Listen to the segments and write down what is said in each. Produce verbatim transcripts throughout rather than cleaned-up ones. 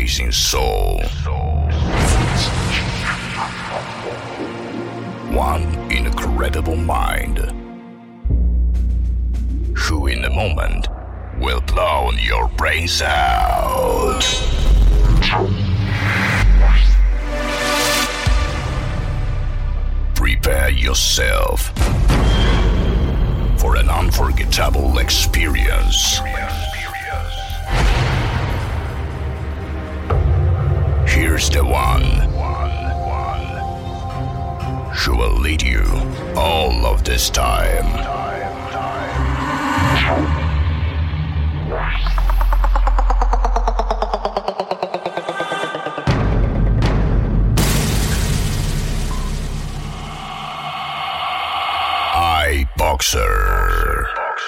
amazing soul. One incredible mind, who in a moment will blow your brains out. Prepare yourself for an unforgettable experience. Here's the one who will lead you all of this time. iBoxer.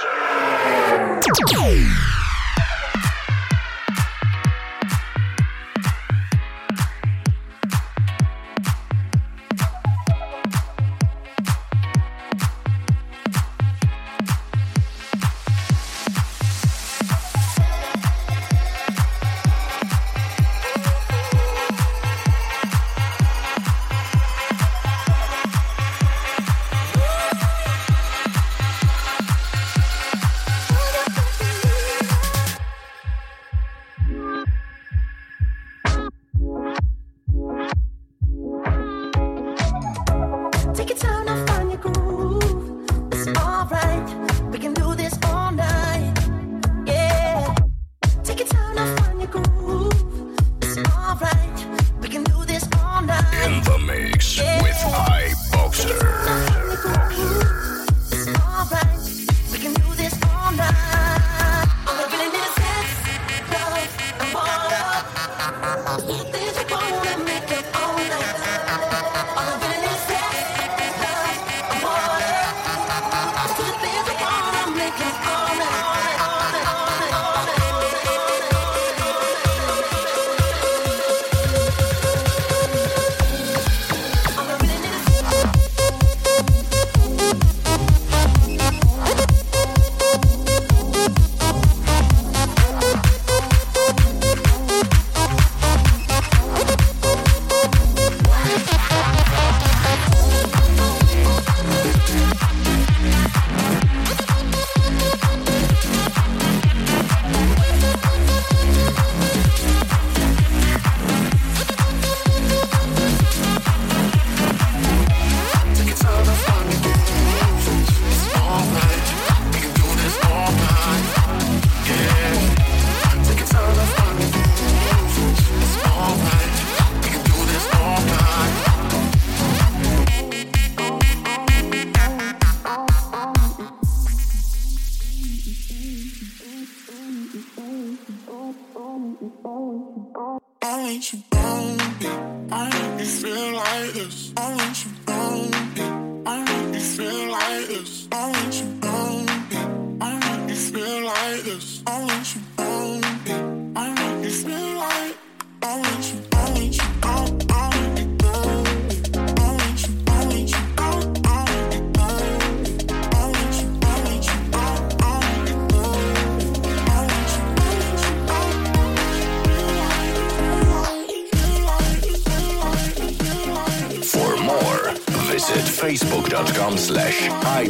Facebook.com slash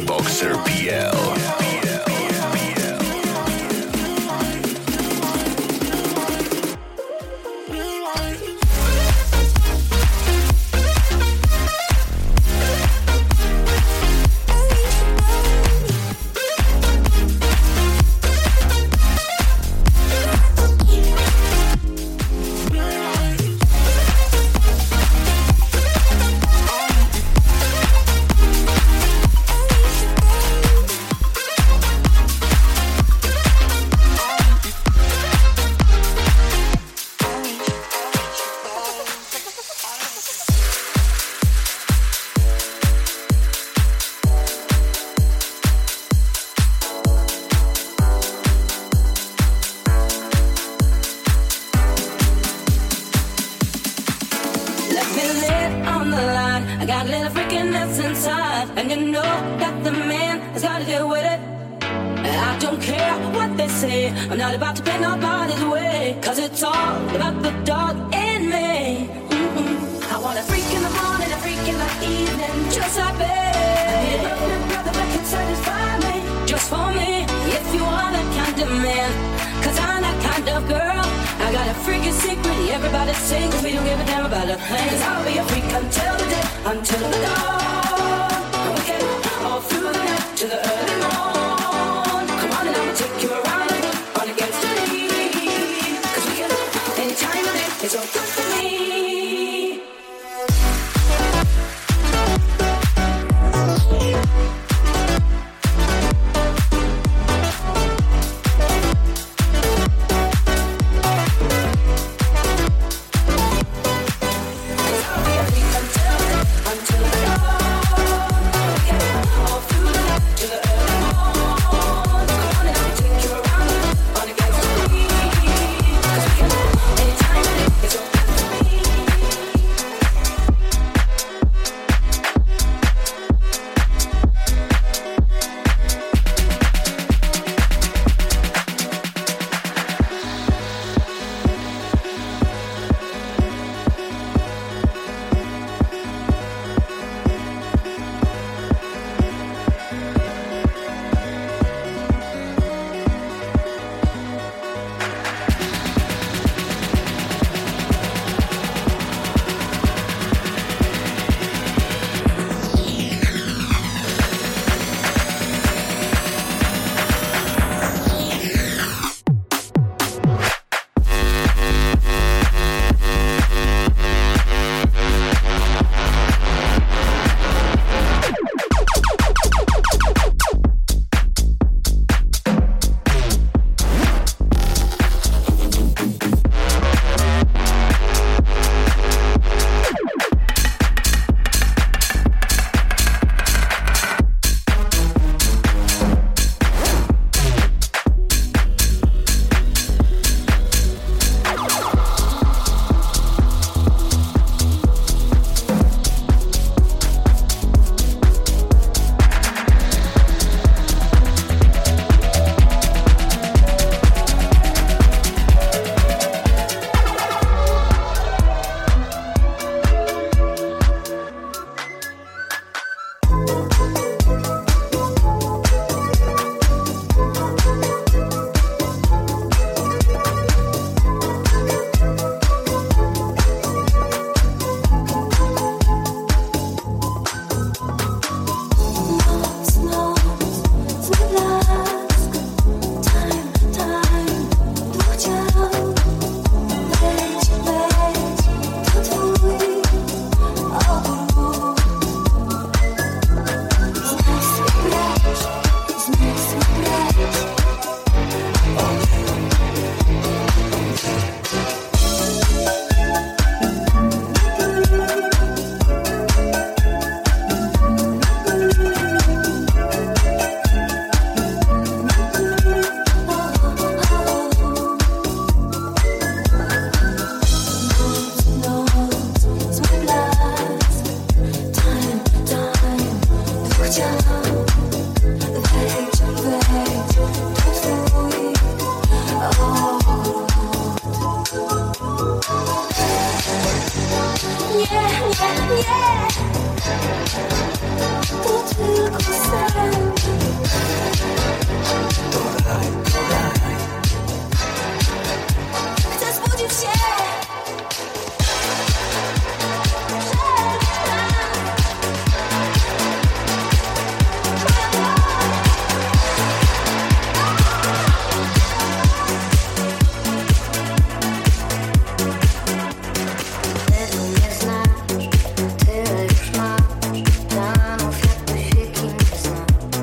iBoxerPL. I don't care what they say. I'm not about to pay nobody's way. Cause it's all about the dog in me. Mm-hmm. I want a freak in the morning, a freak in the evening. Just like me. I need a perfect brother that can satisfy me. Just for me, if you are that kind of man. Cause I'm that kind of girl. I got a freaking secret, everybody sing. Cause we don't give a damn about a thing. Cause I'll be a freak until the day, until the dawn. And we can all through the night to the early morn. Come on and I will take you around the world on against the lead. Cause we can, any time of day, it's all good for me. Tyle już masz, planów jakby się kim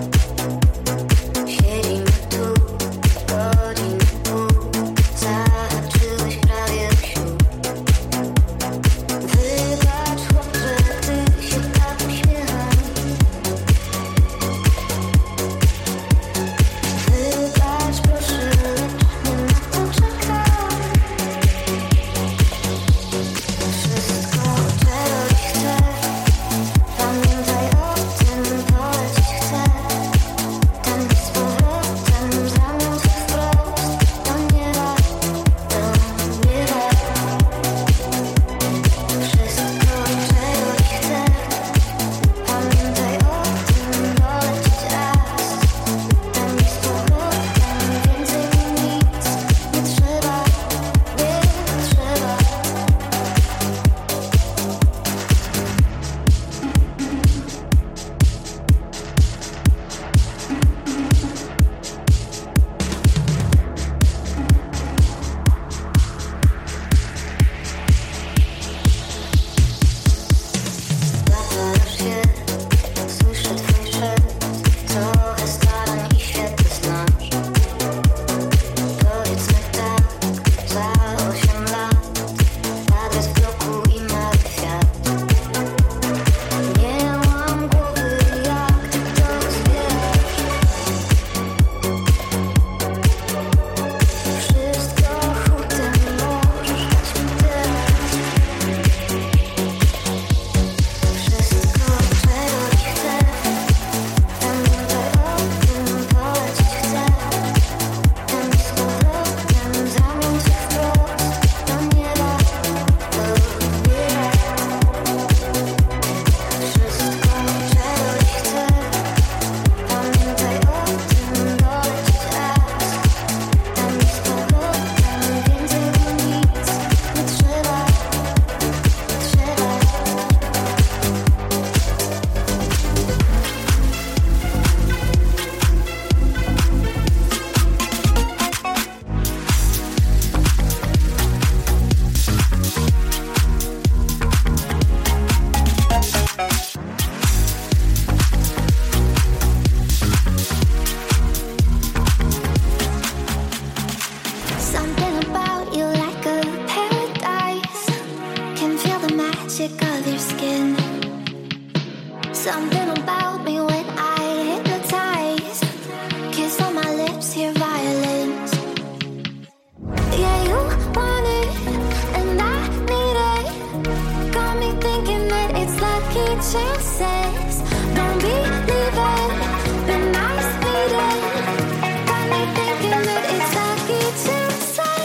chances. Don't be leaving. Been nice meeting. Got me thinking that it's lucky to say.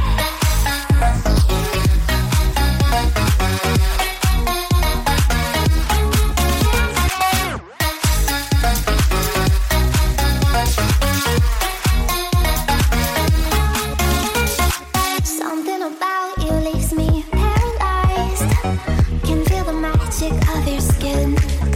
Something about you leaves me paralyzed. Can feel the magic of your skin.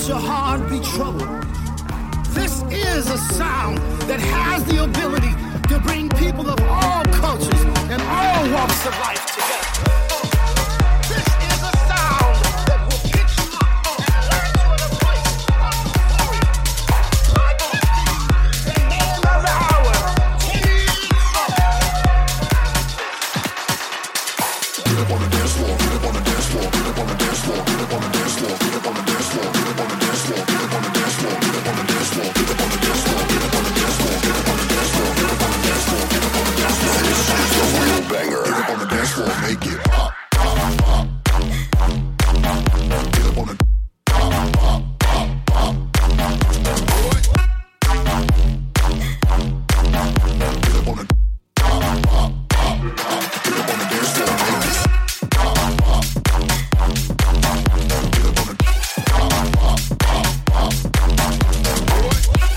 your heart be troubled. This is a sound that has the ability to bring people of all cultures and all walks of life together. This is a sound that will pick you up and land you in a place of glory. Like the man of the hour. Get up on the dance floor, get up on the dance floor, get up on the dance floor, get up on the dance floor, get up on the dance floor, get up on the dance floor, get up on the dance floor, get up on the dance floor, get up on the dance floor, get up on the dance floor, get up on the dance floor, get up on the dance floor, get up on the dance floor. This is the real banger. Get up on the dance floor, make it pop, pop, pop. Get up on the pop, pop, pop, pop. Boy. Get up on the pop, pop, pop, pop. Get up on the dance floor, make it pop, pop. Get up on the pop, pop, pop, pop. Boy.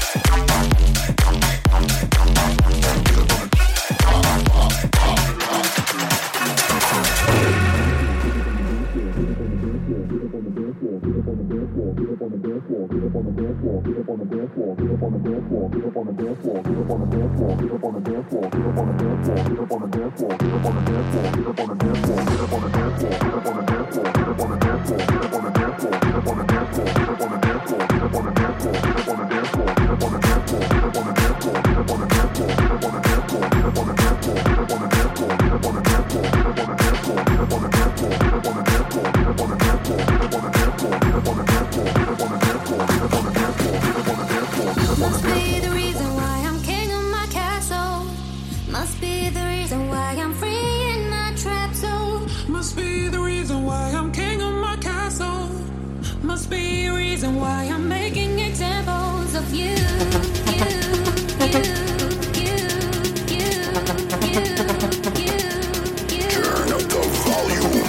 Must be the reason why I'm king of my castle. Must be the reason why I'm free in my trap zone. Must be the reason why I'm king of my castle. Must be a reason why I'm making Examples of you, you, you, you, you, you, you, you. Turn up the volume.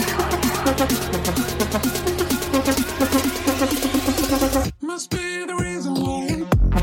Must be the reason why.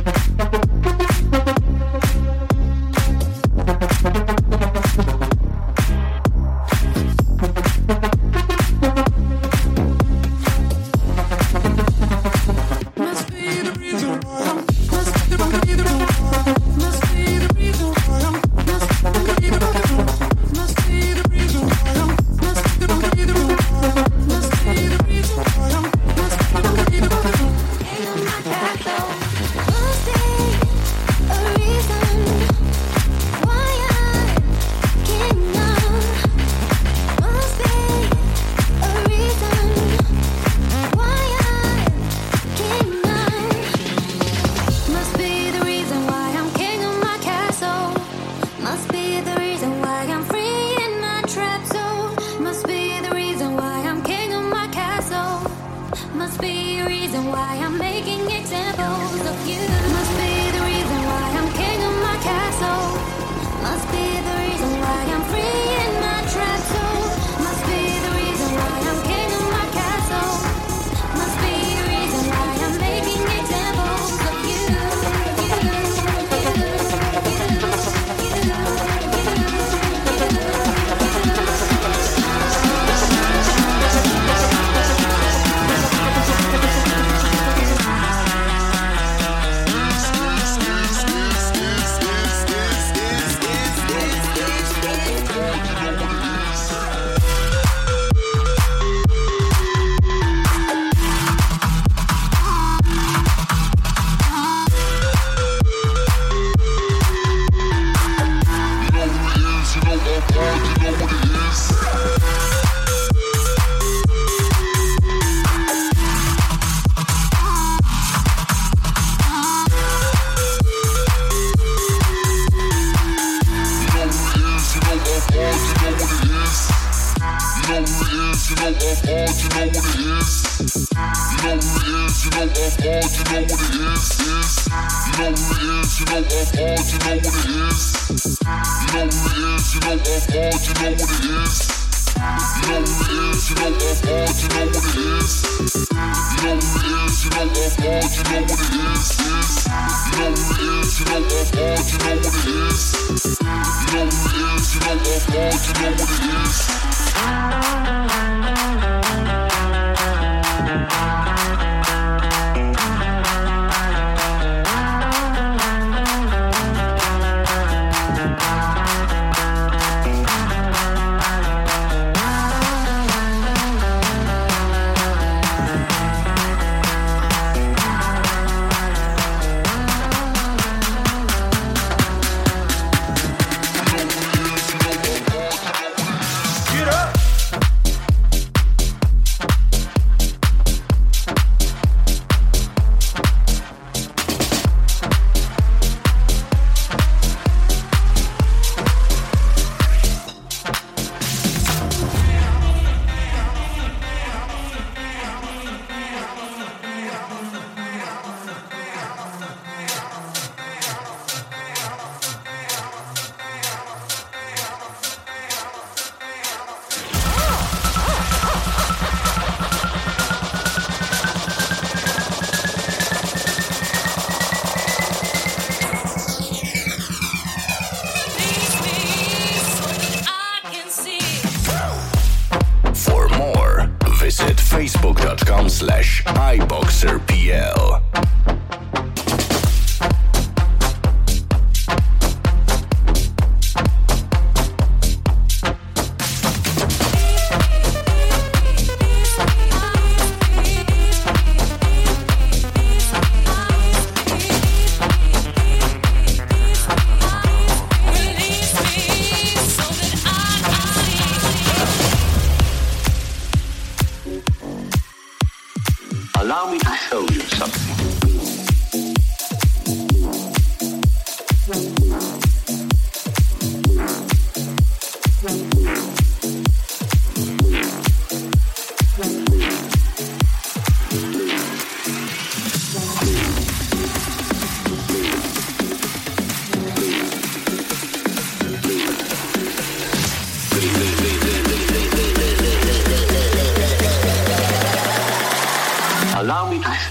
Must be the reason why I'm. Must be the reason why. Must be the reason why I'm. Must be the reason why. Must be the reason why I'm. Must be the reason why. Must be the reason why I'm. Must be the reason why. King of my castle. Must be a reason why I'm king of. Must be a reason why I'm king of. Must be the reason why I'm king of my castle. Must be the reason why I'm free in my trap zone. Must be the reason why I'm king of my castle. Must be a reason why I'm making examples of you. Must be the reason why I'm king of my castle. Must be the reason why I'm free in my trap zone. Must be the reason why I'm king of my castle. Must be the reason why I'm making examples of you. You, you,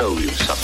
tell you something.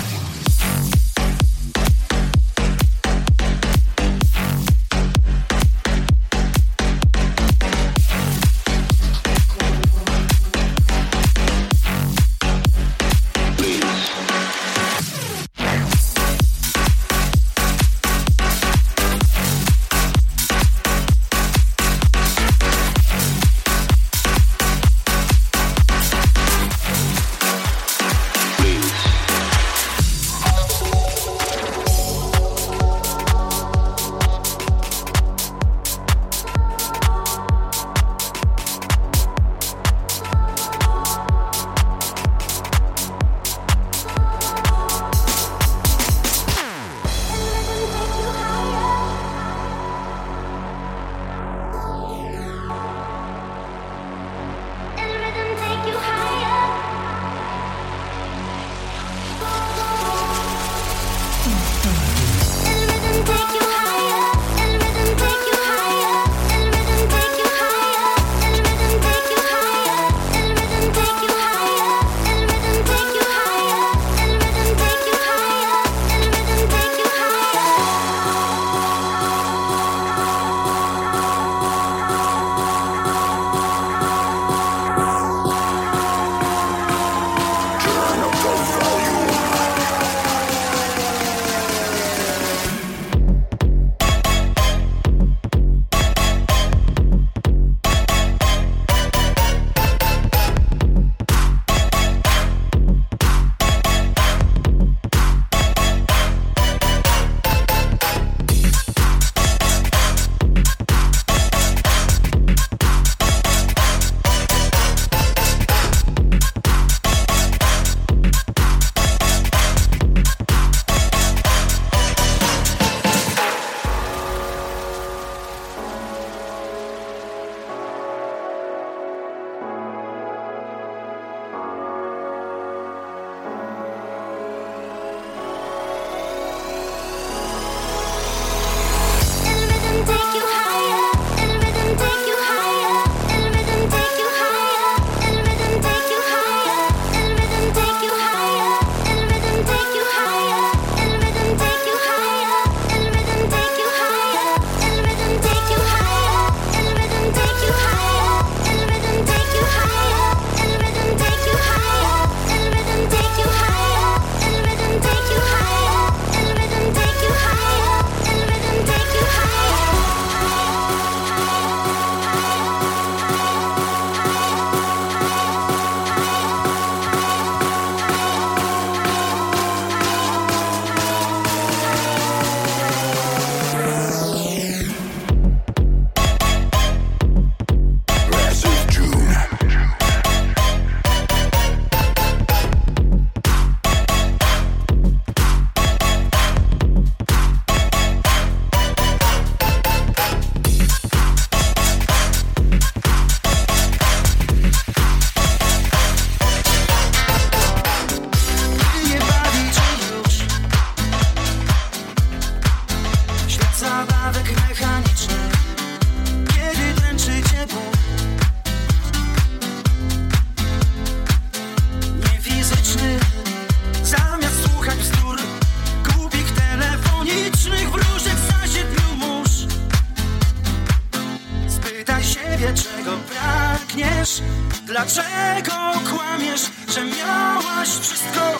Dlaczego kłamiesz, że miałaś wszystko,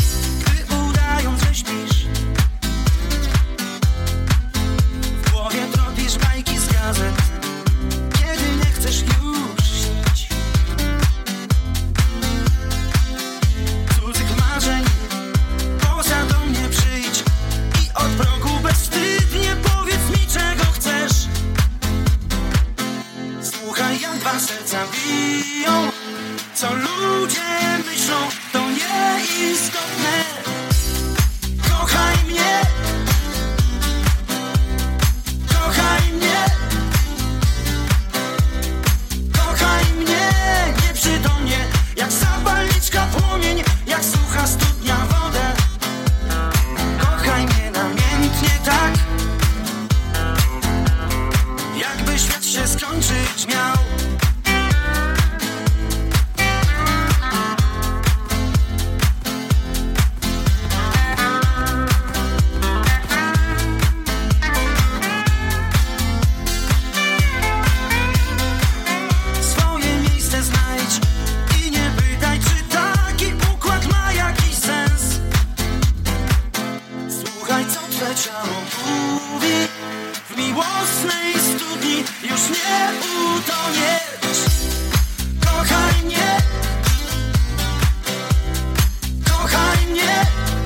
gdy udając, że śpisz? W głowie tropisz bajki z gazet, kiedy nie chcesz już śnić. Cudzych marzeń, poza do mnie przyjdź i od progu bezwstydnie powiedz mi, czego chcesz. Słuchaj, jak dwa serca biją, co ludzie myślą, to nie ich Swe ciało mówi, w miłosnej studni już nie utoniesz. Kochaj mnie, kochaj mnie,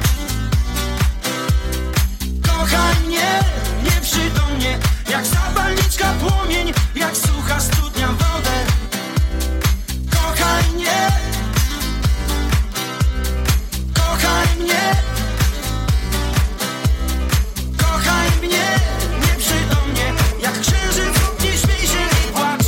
kochaj mnie, nieprzytomnie, jak zapalniczka płomień, jak sucha studnia wodę. Kochaj mnie, kochaj mnie, kochaj mnie, nieprzytomnie, jak księżyc w oknie, śmiej się i płacz.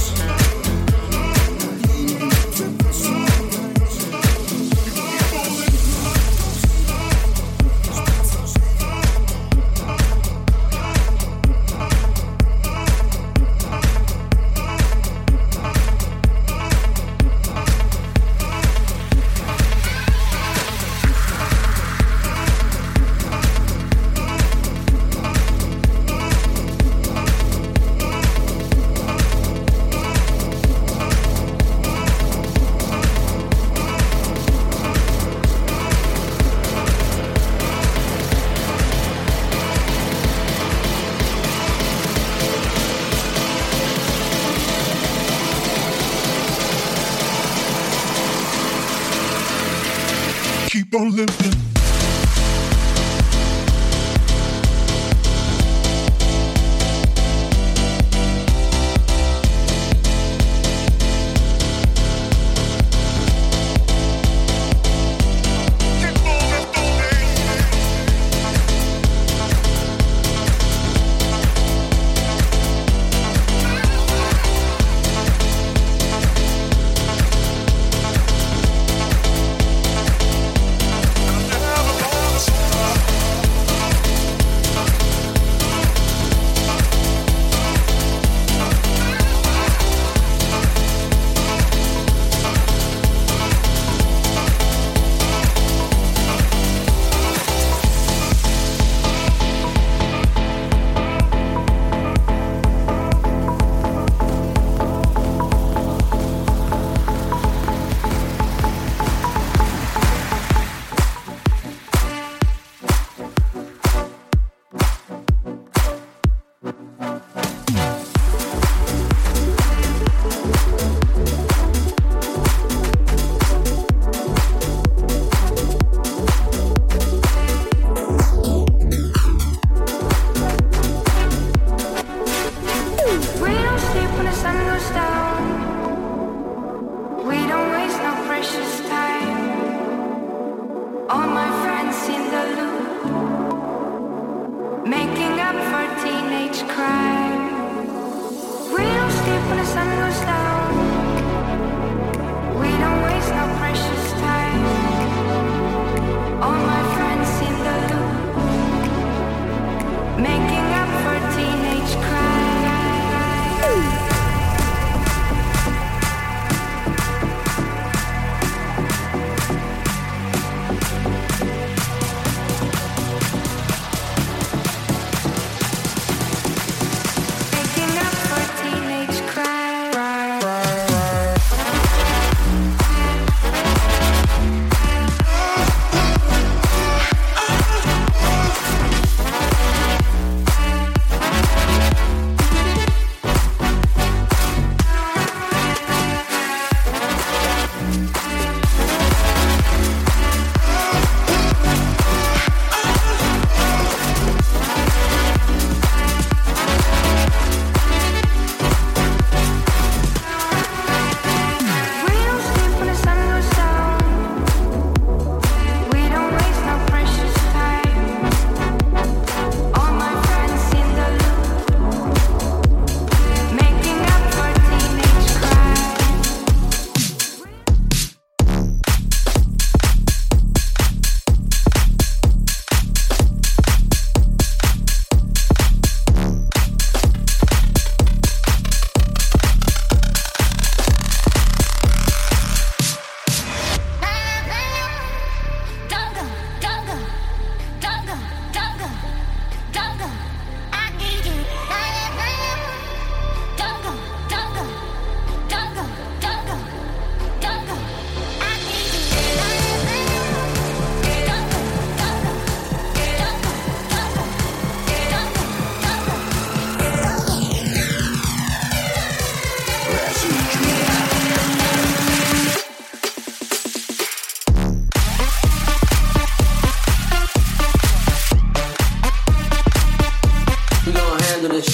Keep on living.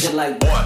shit like what?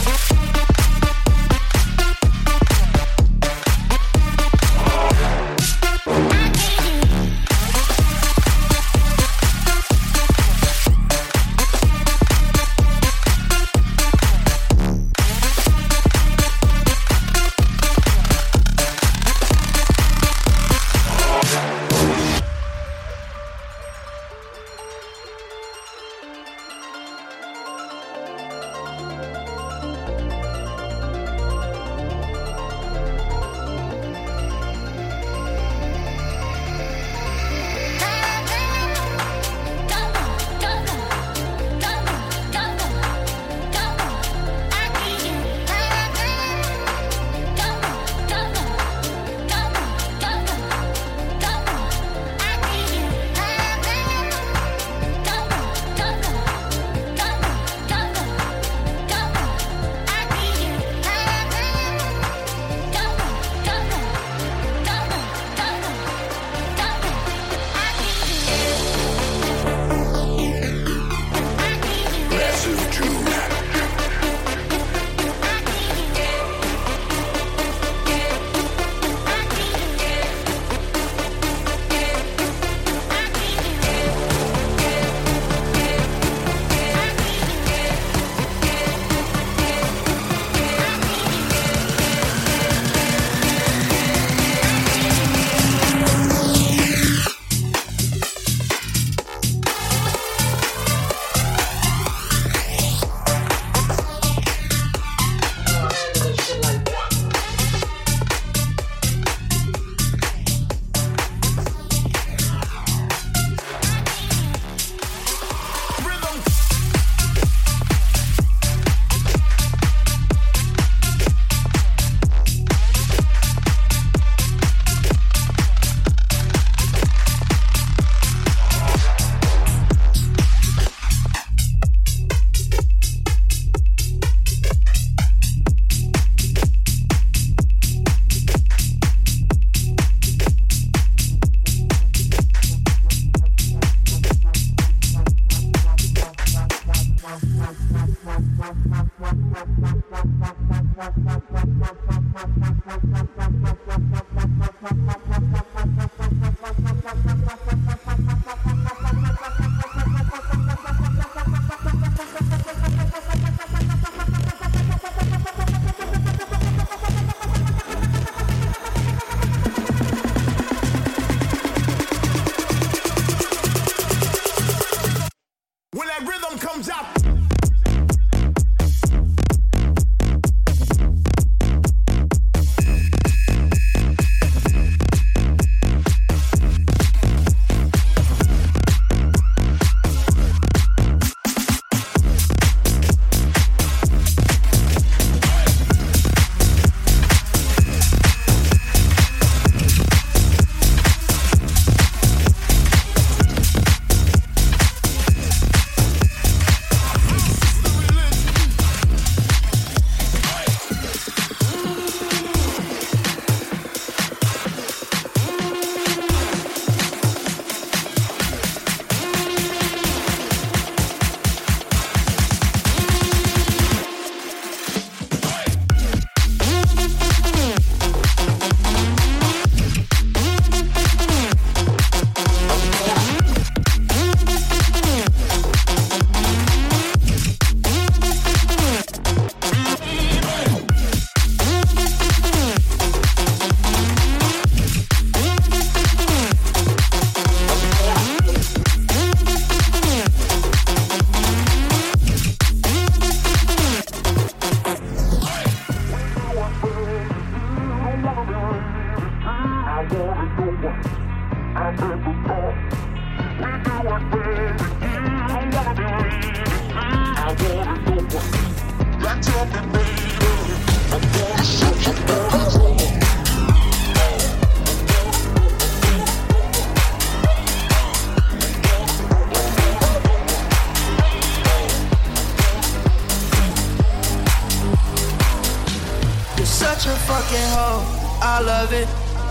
I love it.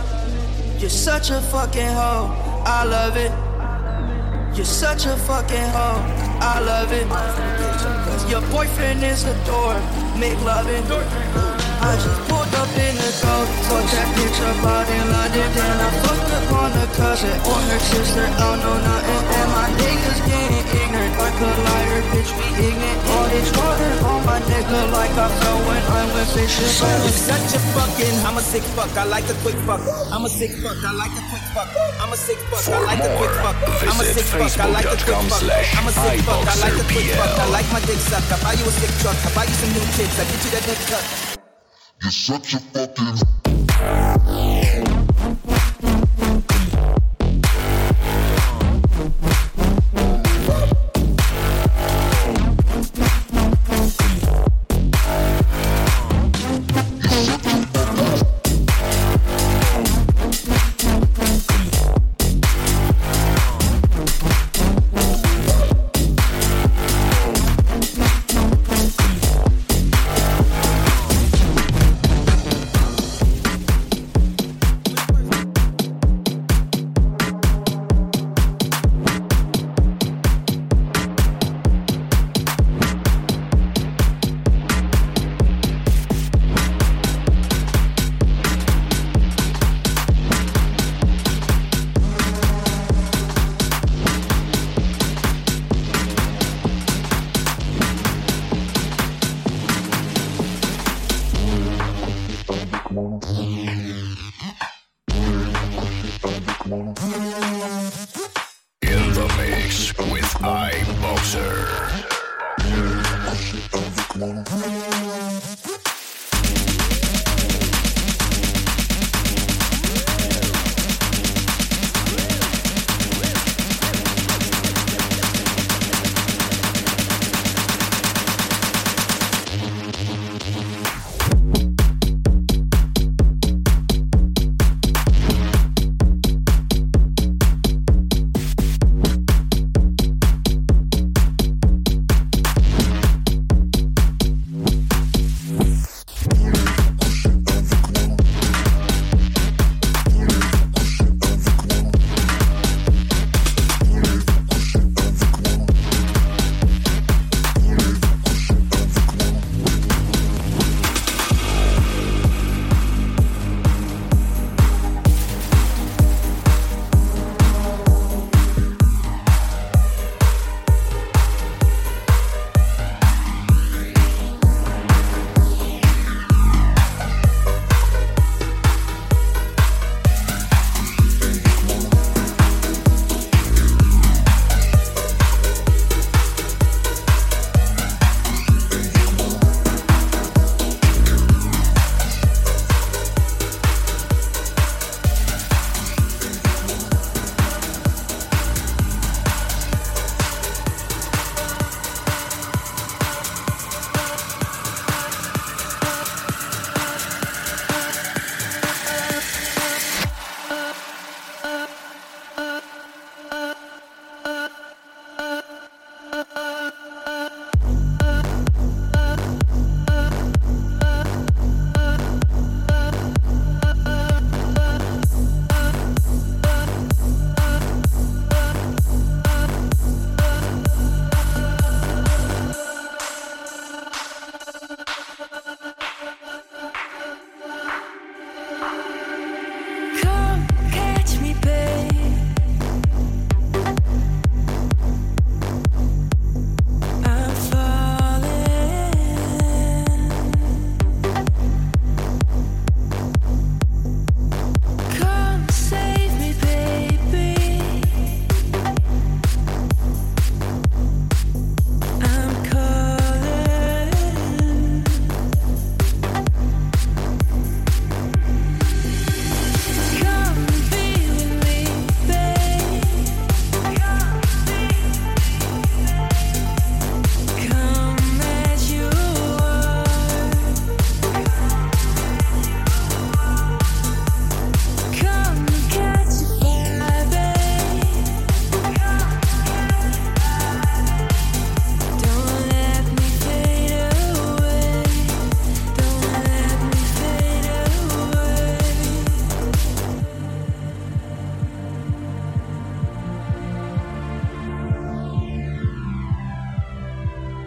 You're such a fucking hoe, I love it. You're such a fucking hoe, I love it. Your boyfriend is a dork, make loving. I just pulled up in the door, took that bitch up out in London. Then I fucked up on her cousin or her sister, I don't know nothing. And my niggas getting ignorant, like a liar, bitch, we ignorant. All this water on my nigga like I fell when I went fishing. I'm such a fucking, I'm a sick fuck, I like a quick fuck. I'm a sick fuck, I like a quick fuck. I'm a sick fuck, I like a quick fuck. I'm a sick fuck, I like a quick fuck. I'm a sick fuck, I like a quick fuck. I like my dick suck, I buy you a sick truck, I buy you some new tits, I get you that dick cut. You're such a fucking... In the mix with iBoxer.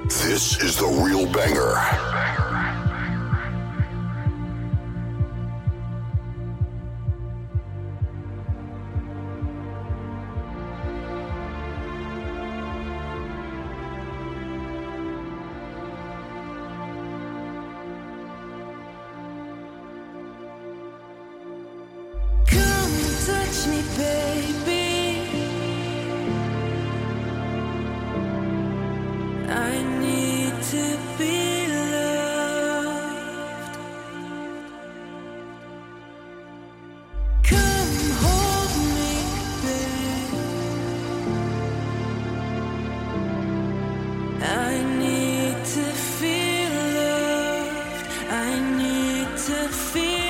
This is the real banger. Touch me, baby. I need to be loved. Come hold me, babe. I need to feel loved. I need to feel loved.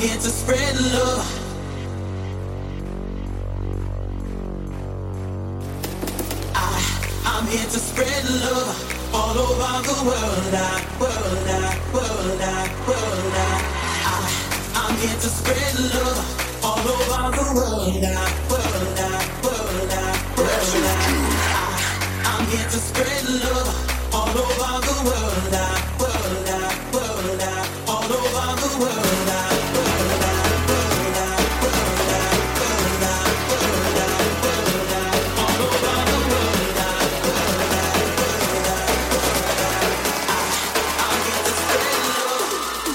here to spread love. I, I'm here to spread love all over the world. I, world, I, world, I, world, I, I, I'm here to spread love all over the world. I, world, I, world, I, world, I, I, I'm here to spread love all over the world. I, world, I, world, I, all over the world. I, world, I, world, I, world, I, world, I, world, I, world, I, all over the world. I, world, I, world, I, world, I, I, I'm here to spread love.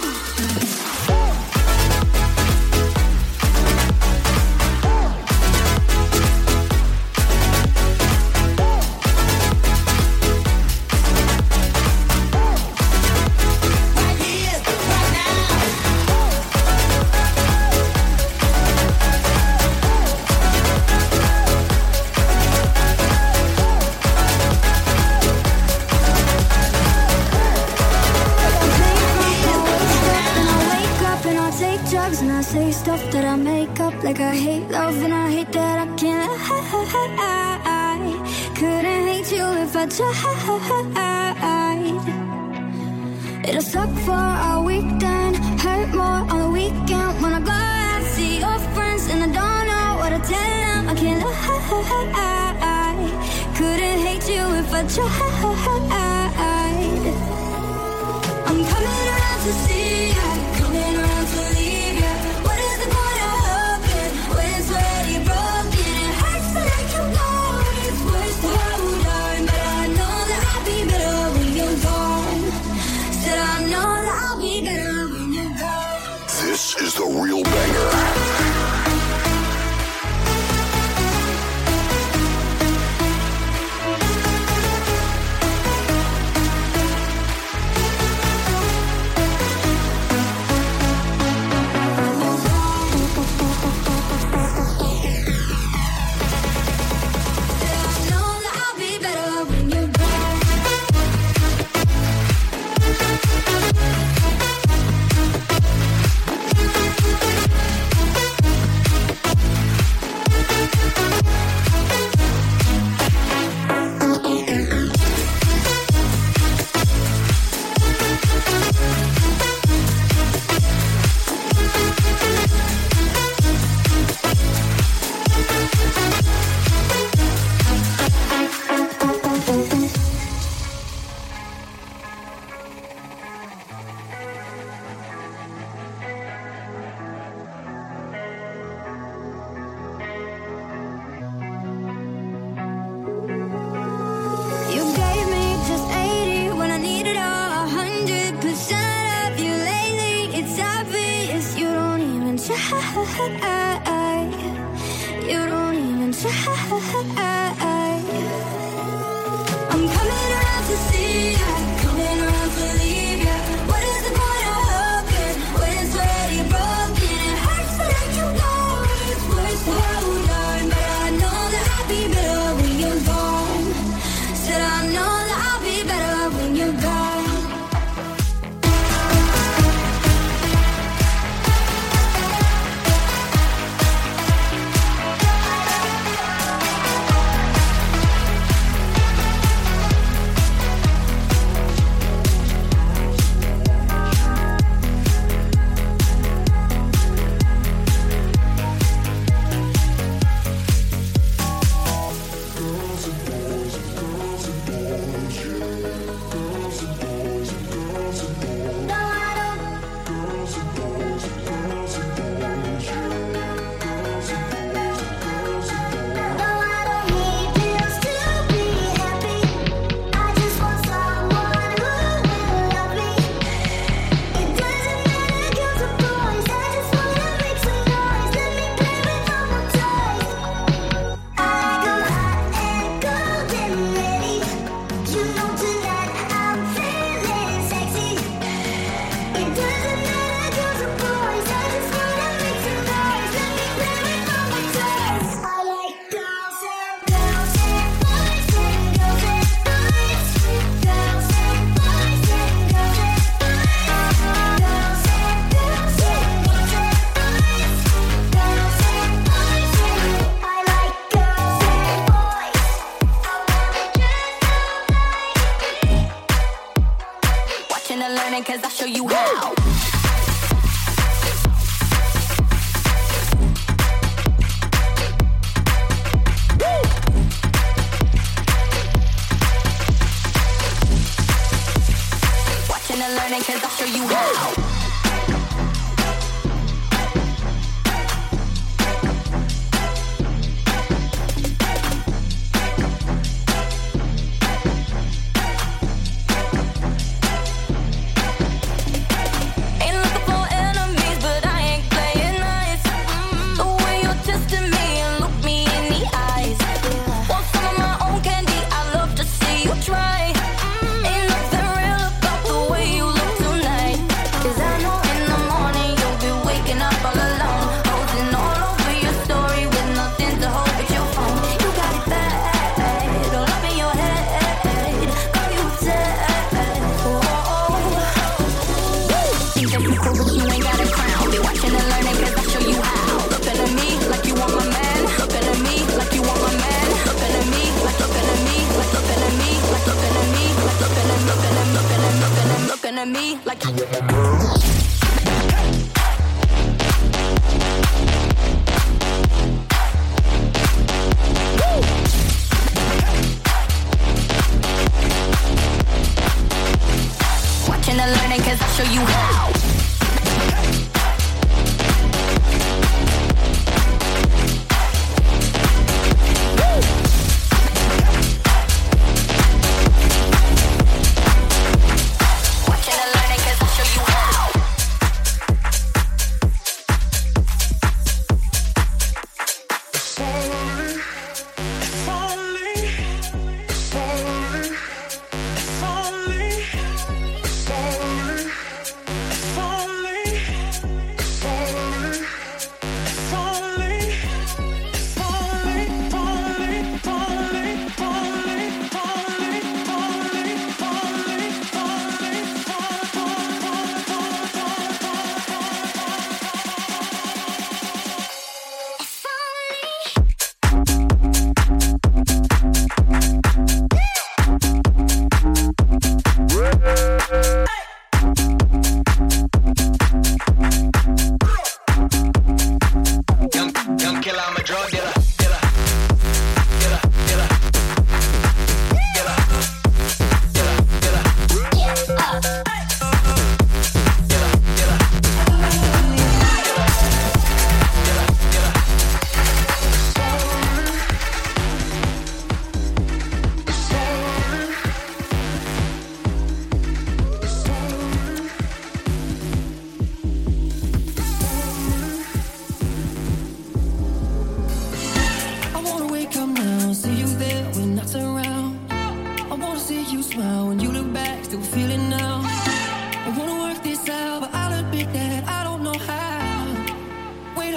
Right here, right now. And I wake up and I take drugs and I say stuff that I make up. Like I hate love and I hate that I can't. I couldn't hate you if I tried. It'll suck for a week, then hurt more on the weekend. When I go out, see your friends, and I don't know what to tell them. I can't lie. Couldn't hate you if I tried. I'm coming around to see ya, coming around to leave ya. What is the point of hoping when it's already broken? It hurts to let you go, it's worse to hold on. But I know that I'll be better when you're gone. Said I know that I'll be better when you're gone. This is the real banger. Said I know that I'll be better when you're gone. You gave me just eighty when I needed a hundred percent of you lately. It's obvious you don't even try. You don't even try. I'm coming around to see ya, coming around to leave ya. What is the point of hoping when it's already broken? It hurts to let you go, it's worse to hold on. But I know that I'll be better when you're gone. Said I know that I'll be better when you're gone.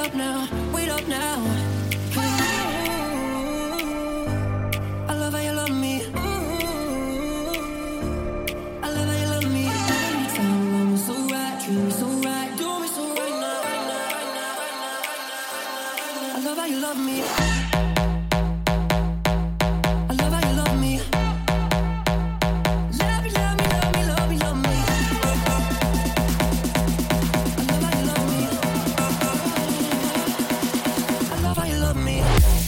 up now, wait up now. I love how you love me. I love how you love me. Anytime you want me so right, treat me so right, do me so right now, right now, right now, right now, right now. I love how you love me. I love how you love me. Love me, love me, love me, love me, love me. I love how you love me. I love how you love me.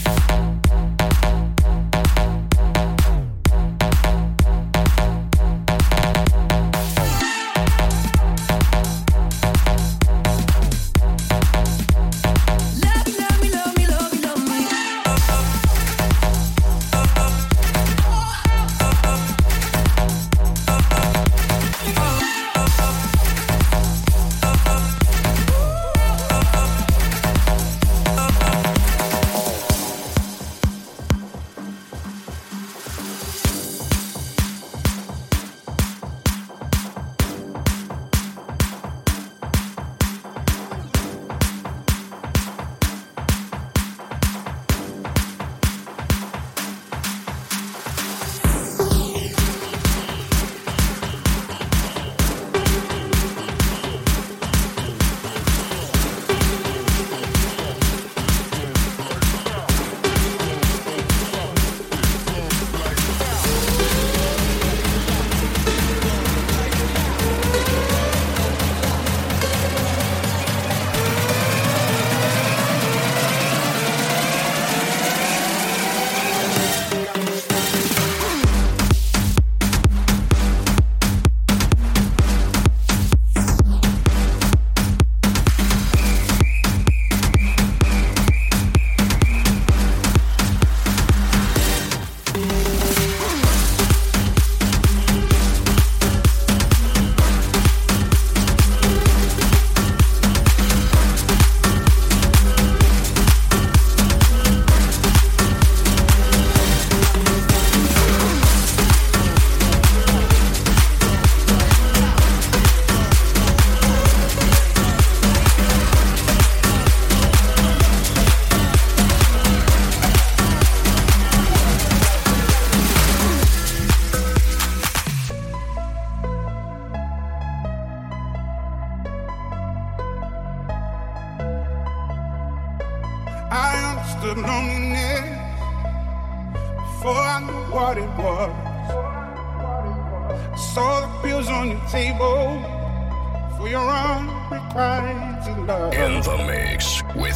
In the mix with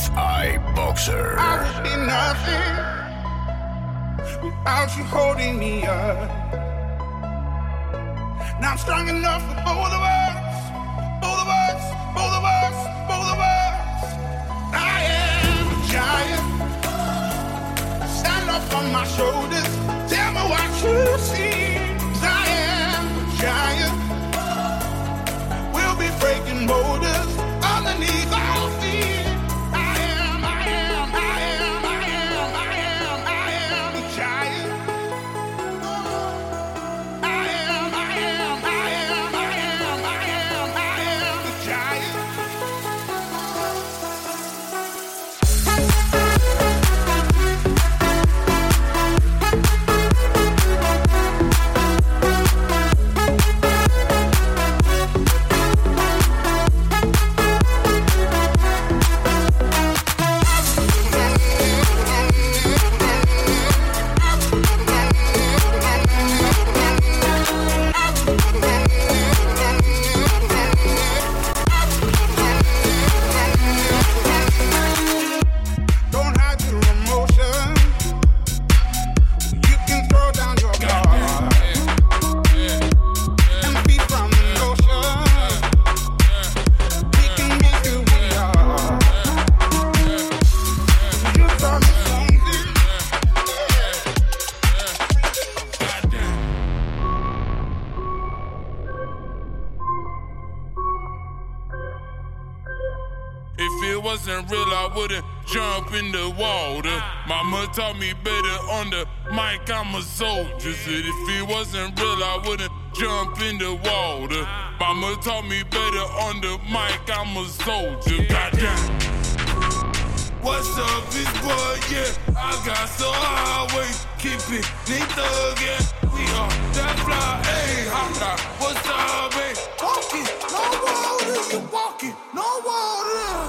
iBoxer. I would be nothing without you holding me up. Now I'm strong enough for both of us, both of us, both of us, both of us. I am a giant. Stand up on my shoulders. Tell me what you see. 'Cause I am a giant. We'll be breaking boulders underneath our feet. I am, I am, I am, I am, I am, I am a giant. I am, I am, I am, I am, I am, I am a giant. wasn't real, I wouldn't jump in the water. Mama taught me better on the mic, I'm a soldier. Said if it wasn't real, I wouldn't jump in the water. Mama taught me better on the mic, I'm a soldier. Goddamn. yeah. I got so highway, keep it neat thug, yeah. We are that fly, hey, hot dog, what's up, hey? Walking, no water, you walking, no water.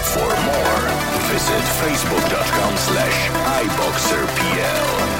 For more, visit facebook.com slash iBoxerPL.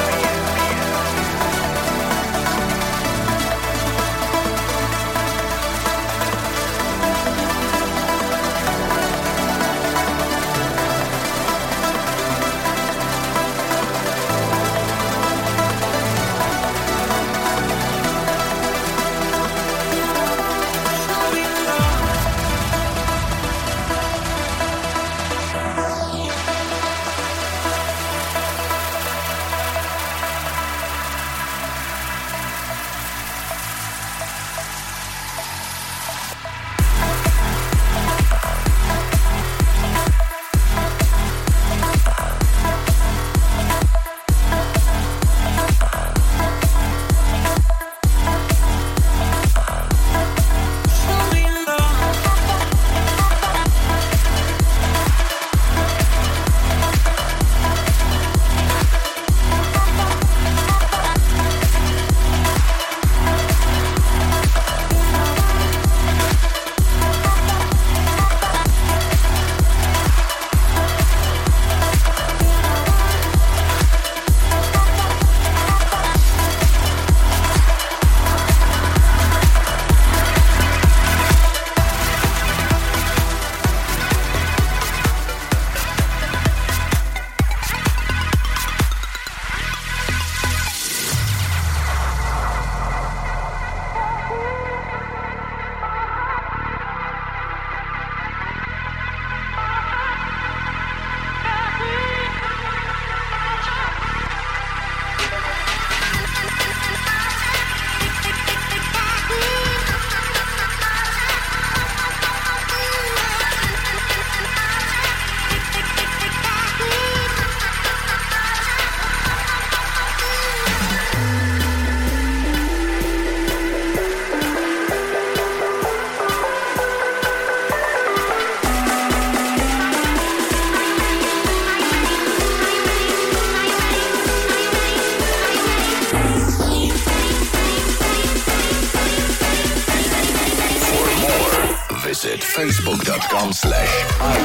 Visit facebook.com slash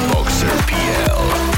iBoxerPL.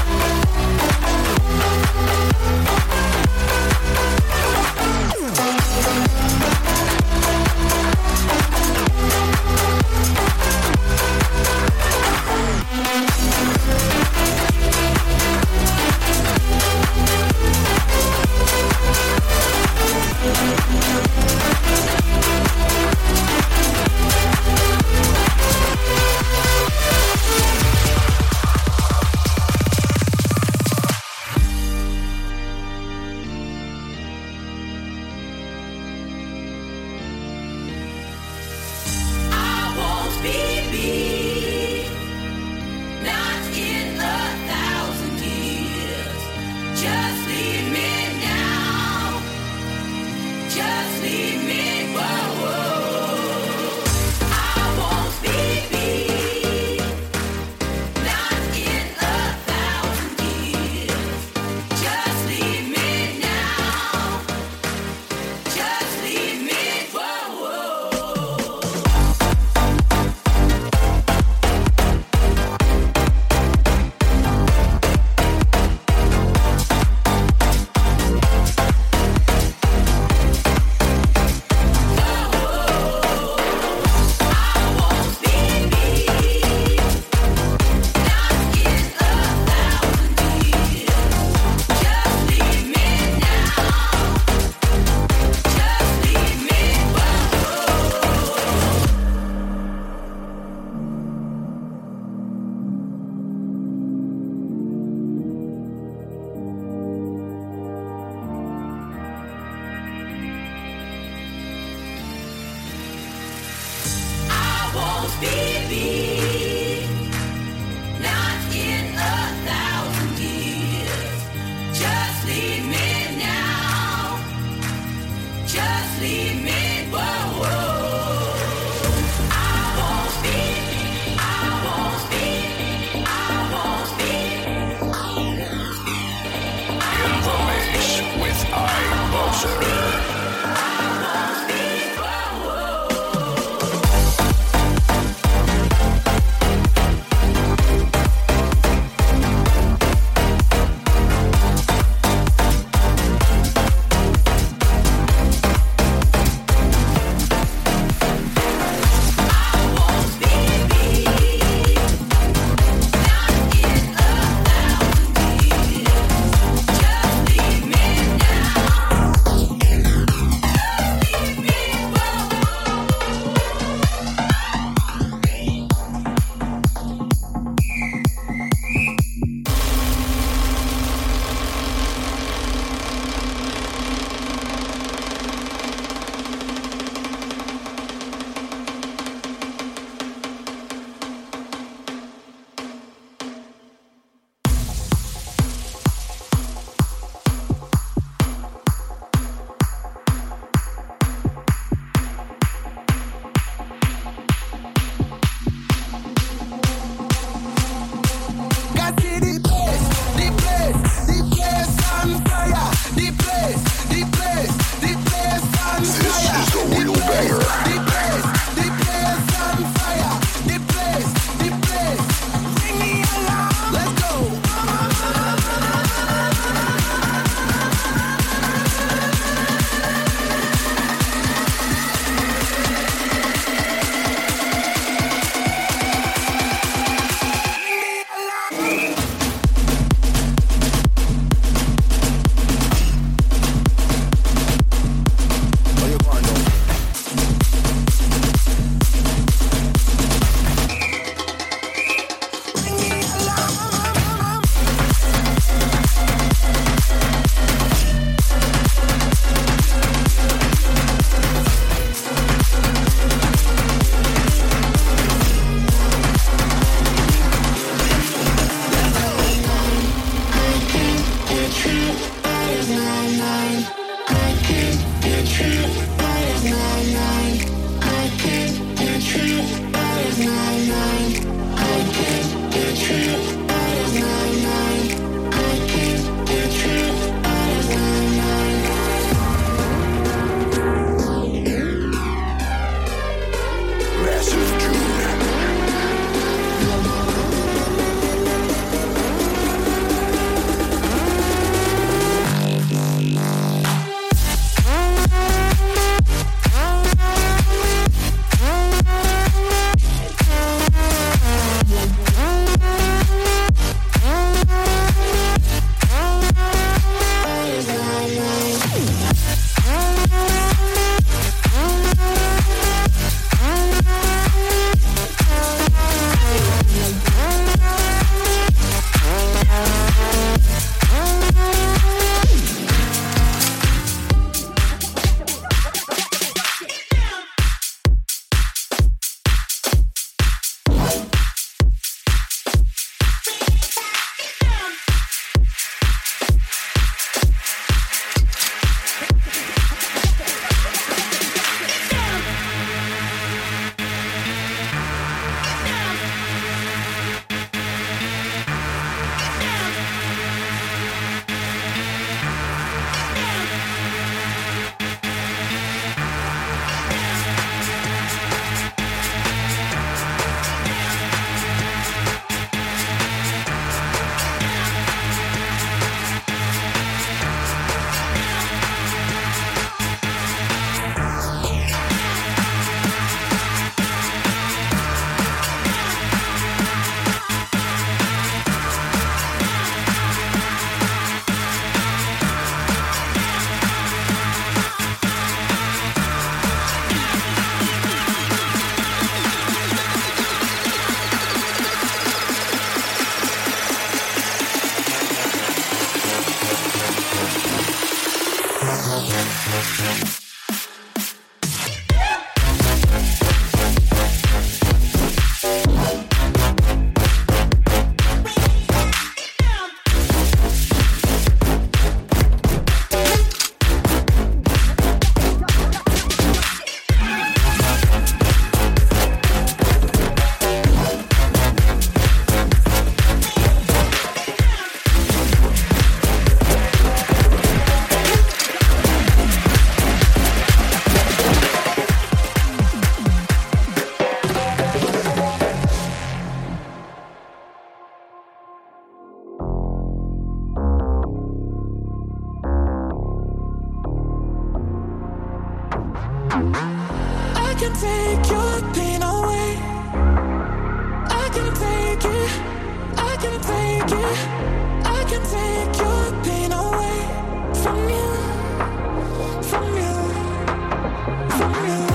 I can take your pain away. I can take it. I can take it. I can take your pain away from you, from you, from you.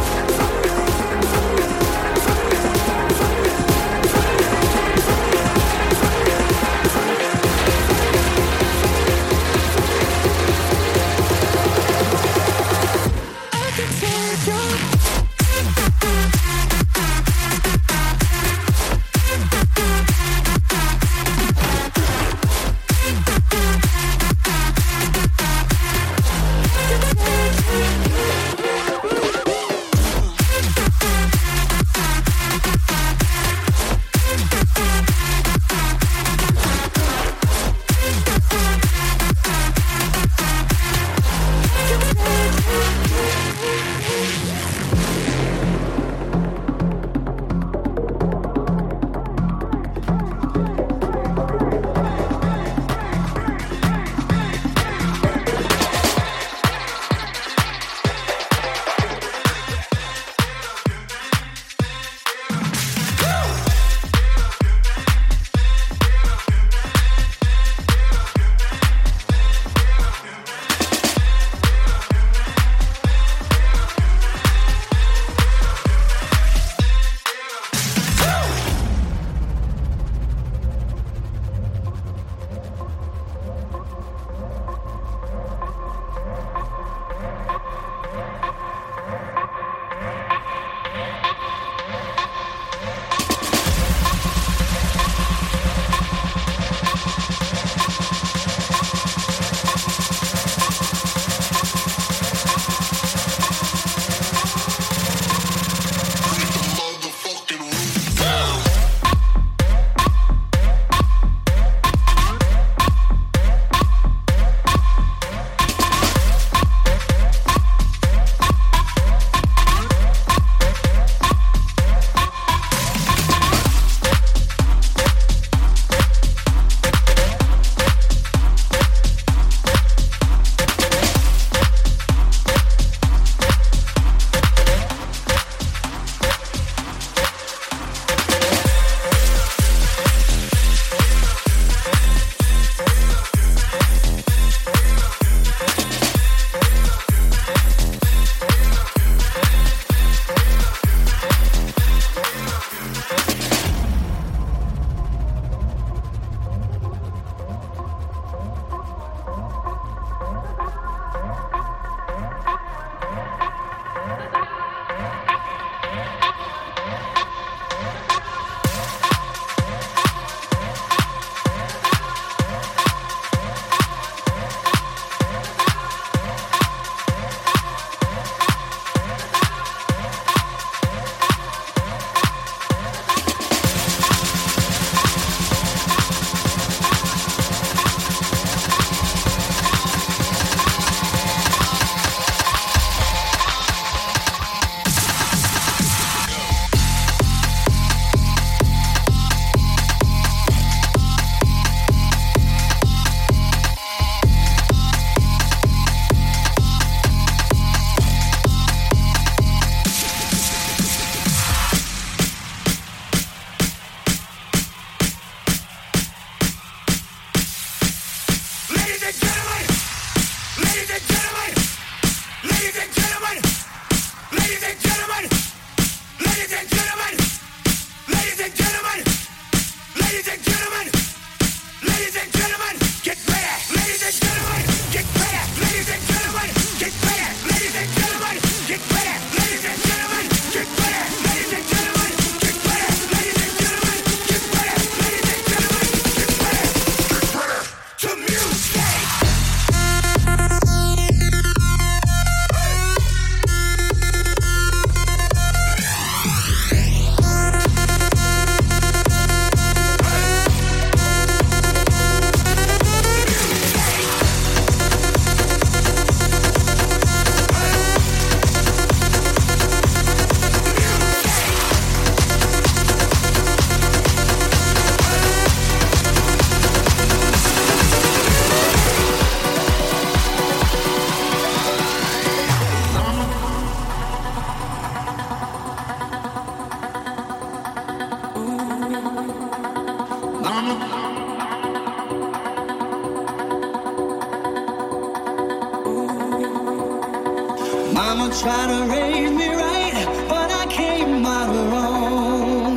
Mama tried to raise me right, but I came out wrong.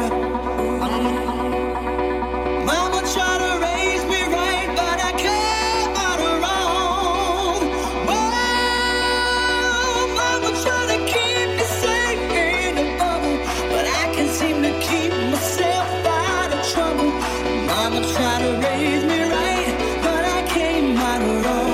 Mama tried to raise me right, but I came out wrong. Well, Mama tried to keep me safe in a bubble, but I can't seem to keep myself out of trouble. Mama tried to raise me right, but I came out wrong.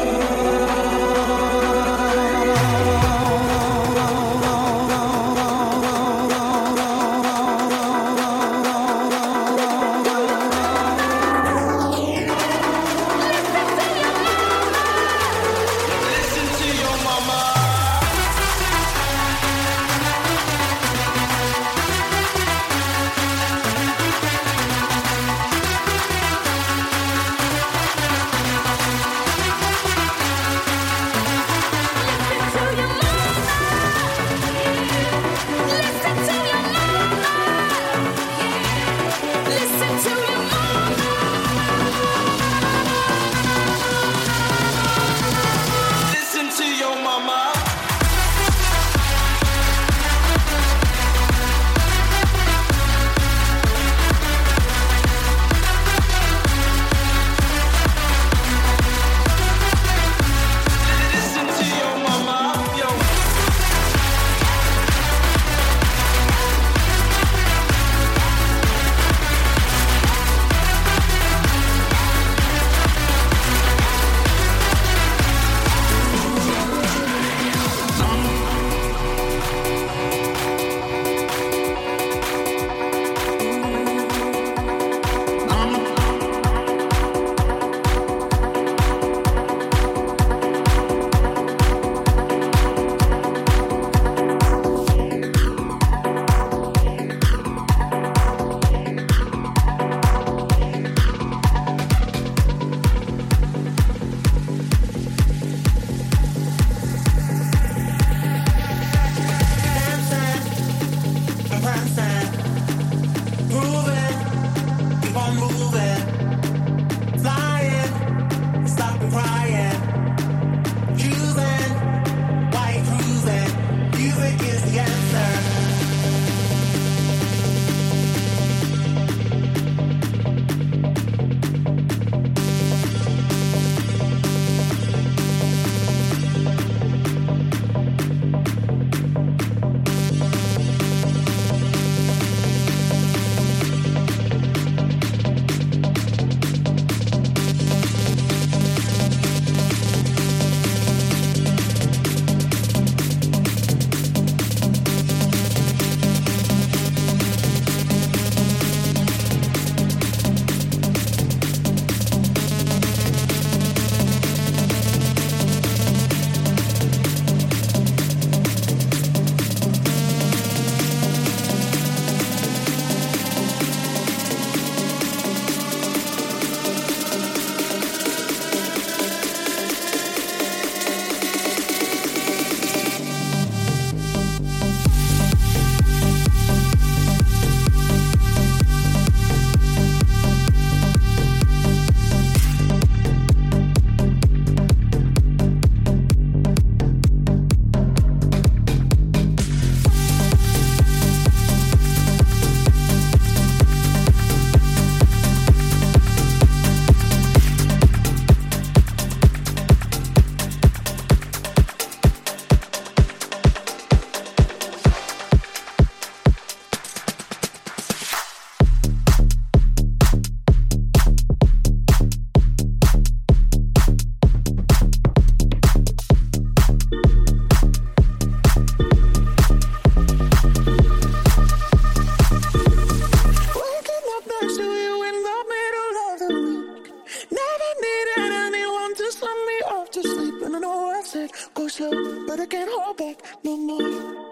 but I can't hold back no more.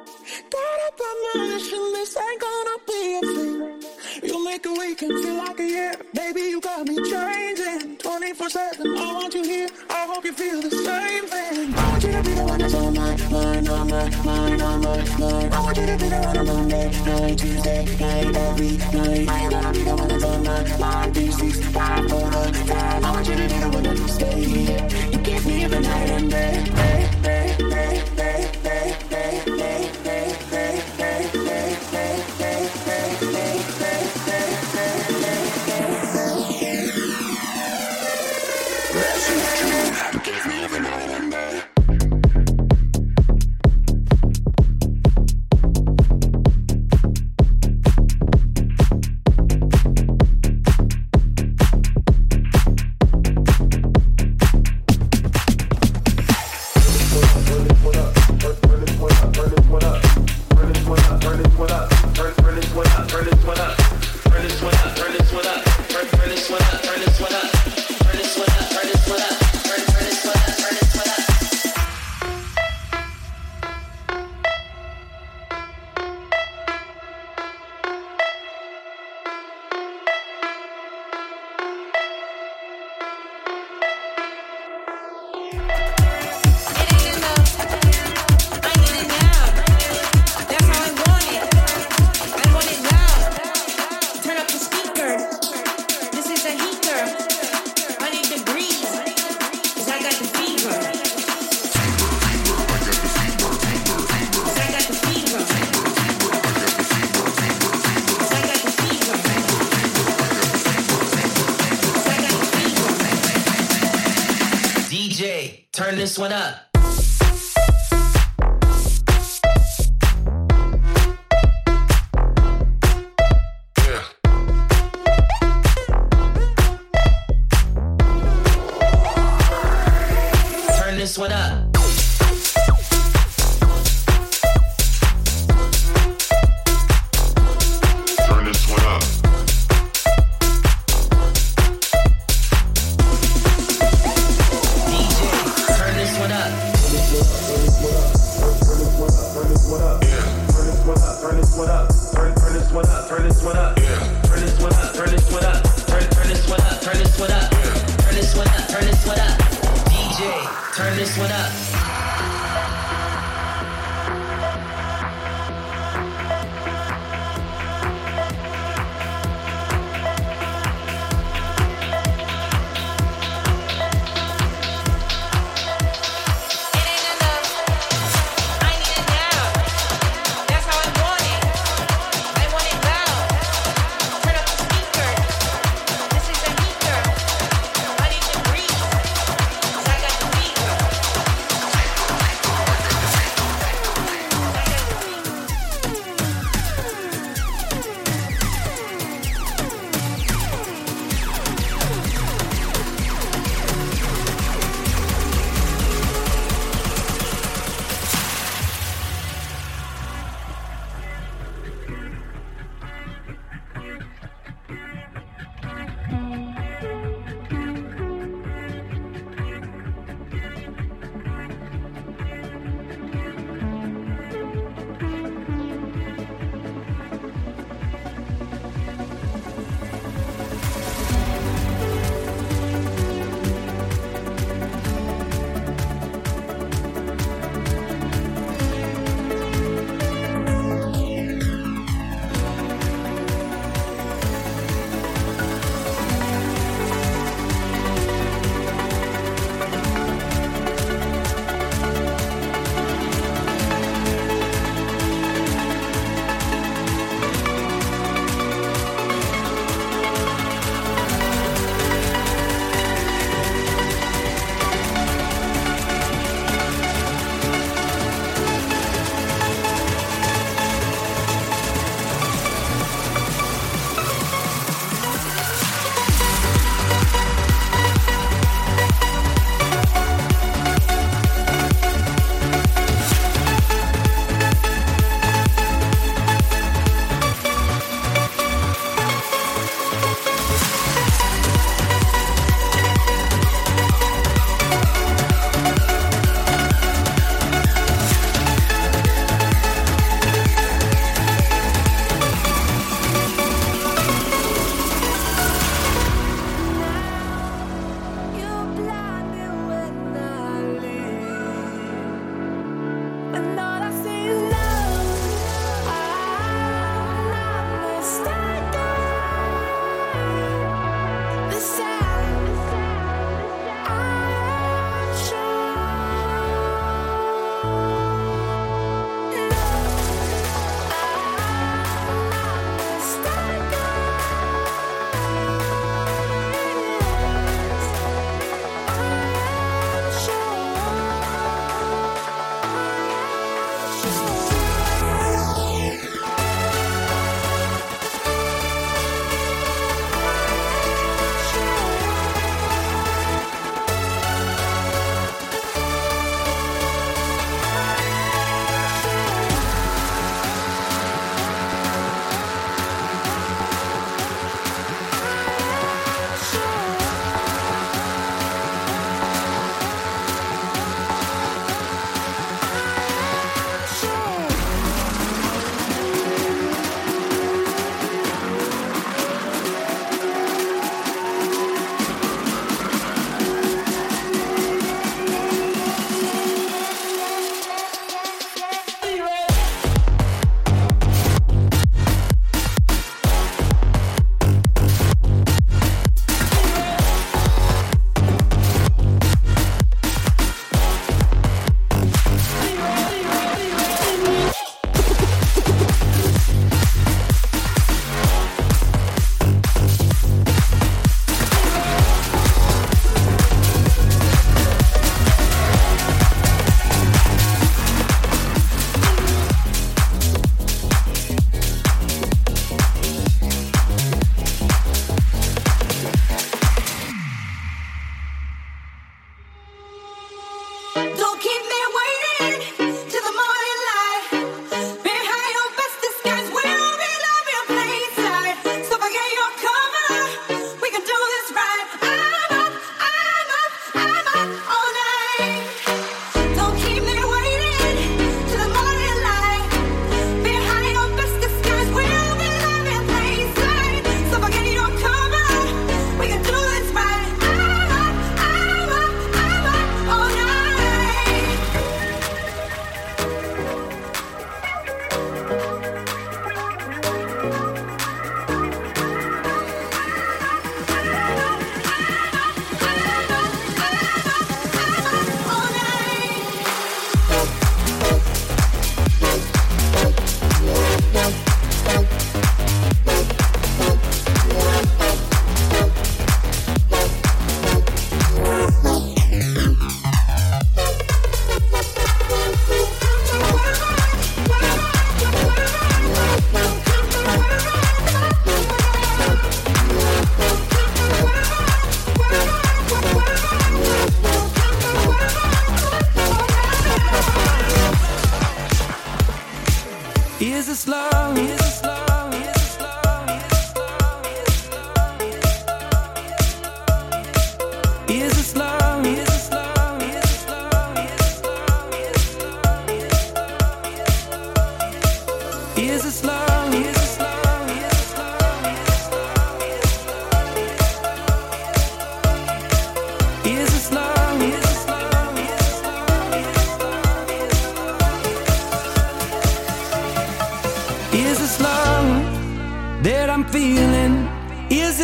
Got up on my mission, this ain't gonna be a thing. You make a weekend feel like a year, baby, you got me changing. twenty-four seven, I want you here, I hope you feel the same thing. I want you to be the one that's on my mind, on my mind, on my mind. I want you to be the one on Monday night, Tuesday night, every night. I ain't gonna be the one that's on my mind, D C turn this one up. This one up. Turn this one up. D J, turn this one up. Turn this one up. Yeah. Turn this one up. Turn this one up. Turn turn this one up. Turn this one up. Yeah. Turn this one up. Turn this one up. Turn turn this one up. Turn this one up. Yeah. Turn this one up. Turn this one up. D J, turn this one up.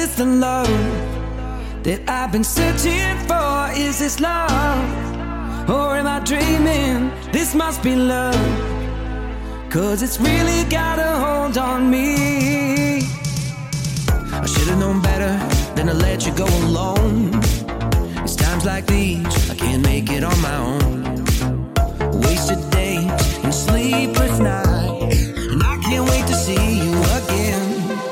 this the love that I've been searching for? Is this love? Or am I dreaming? This must be love, 'cause it's really got a hold on me. I should've known better than to let you go alone. It's times like these I can't make it on my own. Wasted days and sleepless nights, and I can't wait to see you again.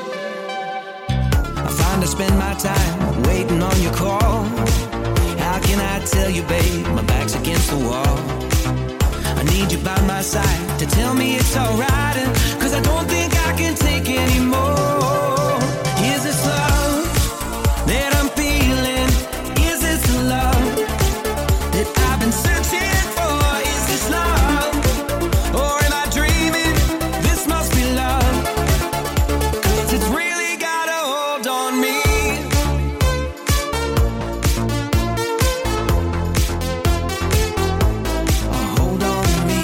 I find I spend my time waiting on your call. How can I tell you, babe, my back's against the wall. I need you by my side to tell me it's alright, 'cause I don't think I can take anymore. Is this love that I'm feeling? Is this the love that I've been searching for? Is this love? Or am I dreaming? This must be love, 'cause it's really got a hold on me. A hold on me.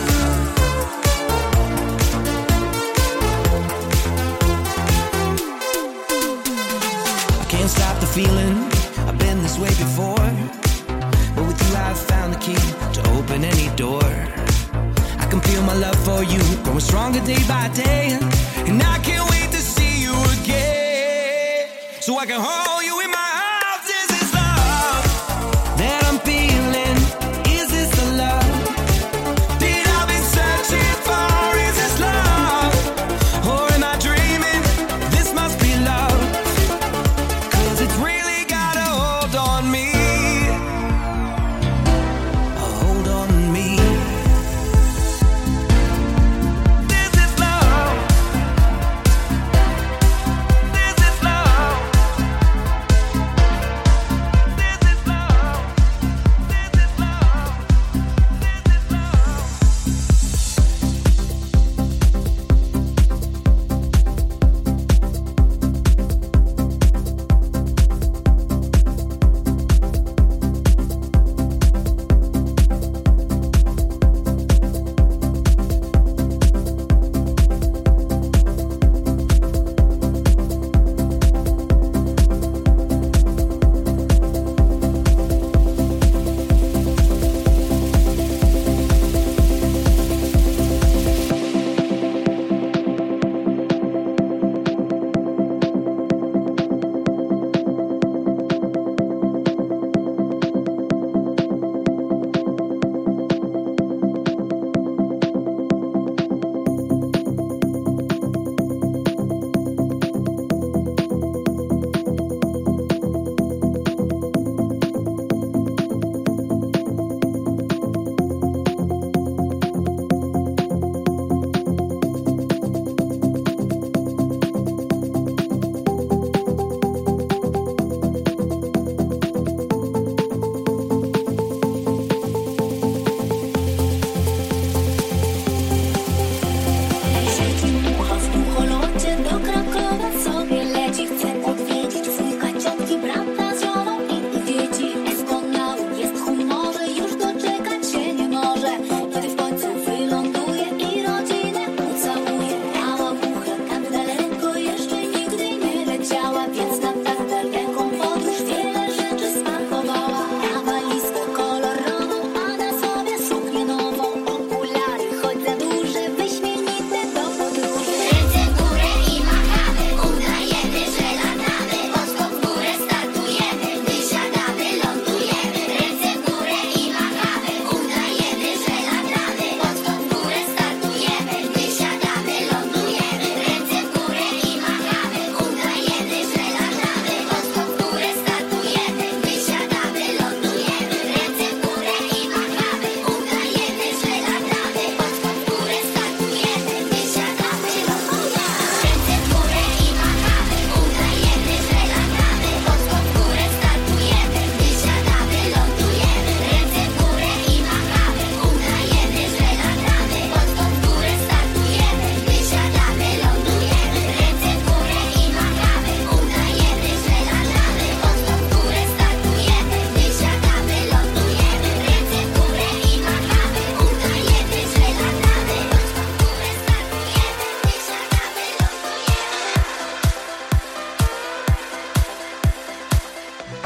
I can't stop the feeling. I've been this way before, but with you I've found the key to open any door. I can feel my love for you growing stronger day by day, and I can't wait to see you again, so I can hold you in my arms. Is this love that I'm feeling? Is this the love that I've been searching for? Is this love? Or am I dreaming? This must be love, 'cause it's really got a hold on me. A hold on me. This is love. This is love.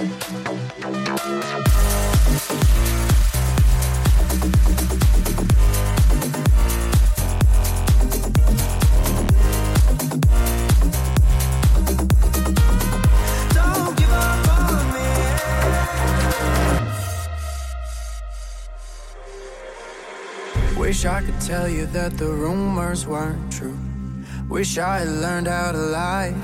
Wish I could tell you that the rumors weren't true. Wish I had learned how to lie.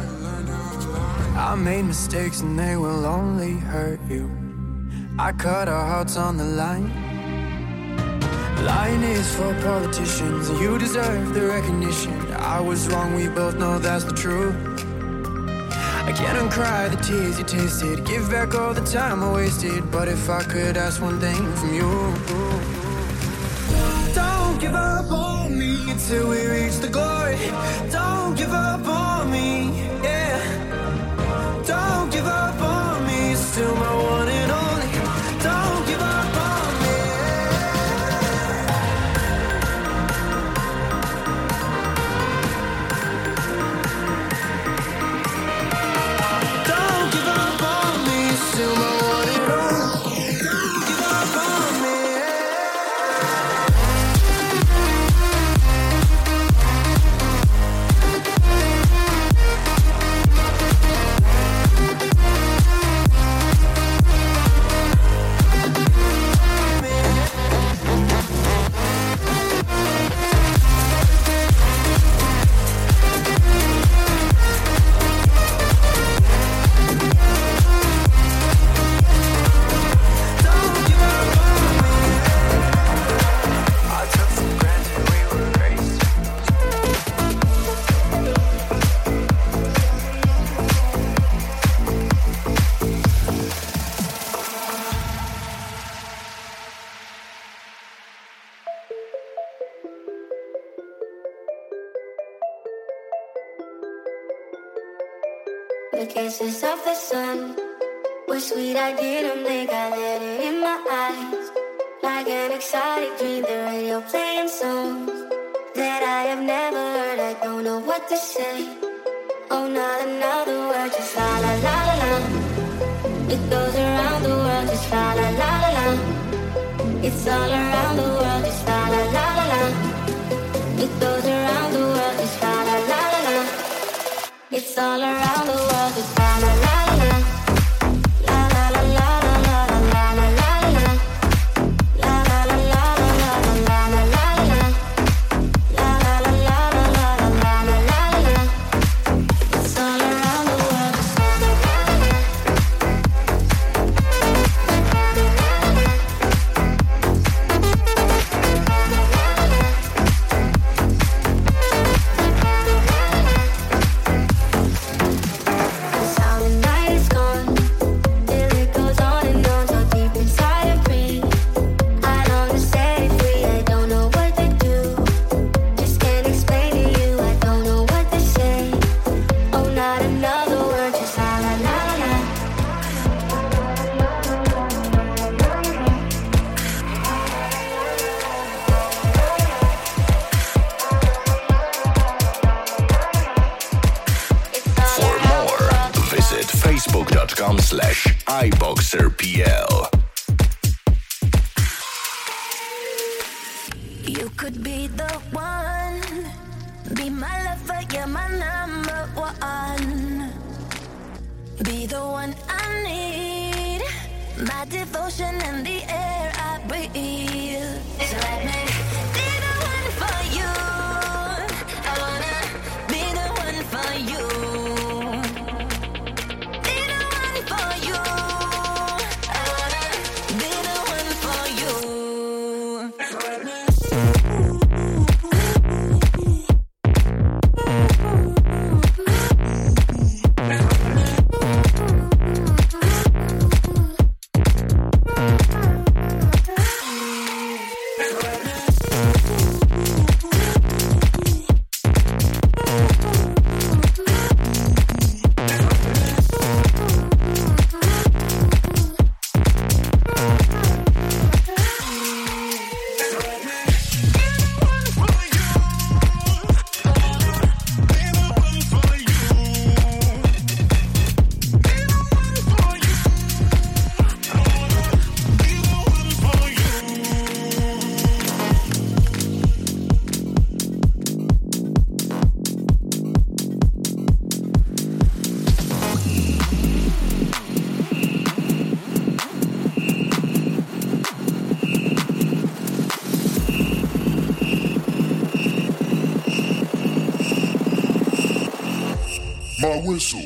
I made mistakes and they will only hurt you. I cut our hearts on the line. Lying is for politicians, and you deserve the recognition. I was wrong, we both know that's the truth. I can't uncry the tears you tasted, give back all the time I wasted. But if I could ask one thing from you, don't give up on me till we reach the glory. Don't give up on me, yeah. Don't give up on me, you're still my one and only. Don't give up on me. Don't give up on me, you're still my one and only. Don't give up on me. The kisses of the sun were sweet, I didn't think I let it in my eyes. Like an exotic dream, the radio playing songs that I have never heard, I don't know what to say. Oh, not another word, just la la la la la. It goes around the world, just la la la la la. It's all around the world, just la la la la la. It goes around the world, just la la la la la. It's all around the world, just la la la la la. La la la la la la la la la la. La la la la la la la la la la. La la la la la la la la la la. It's all around the world, just la la la la la. Facebook.com slash iBoxerPL. You could be the one, be my lover, you're my number one. Be the one I need, my devotion and the air I breathe. So let me be the one for you. I wanna be the one for you. Be the one for you. I wanna be the one for you. So let me We'll be right back. My whistle.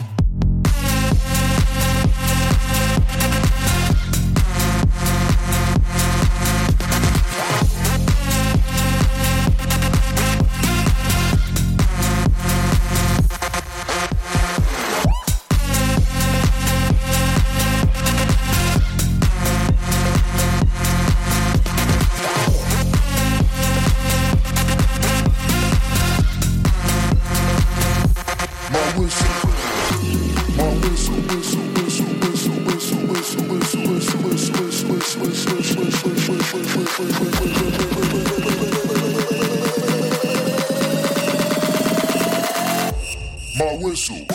My whistle.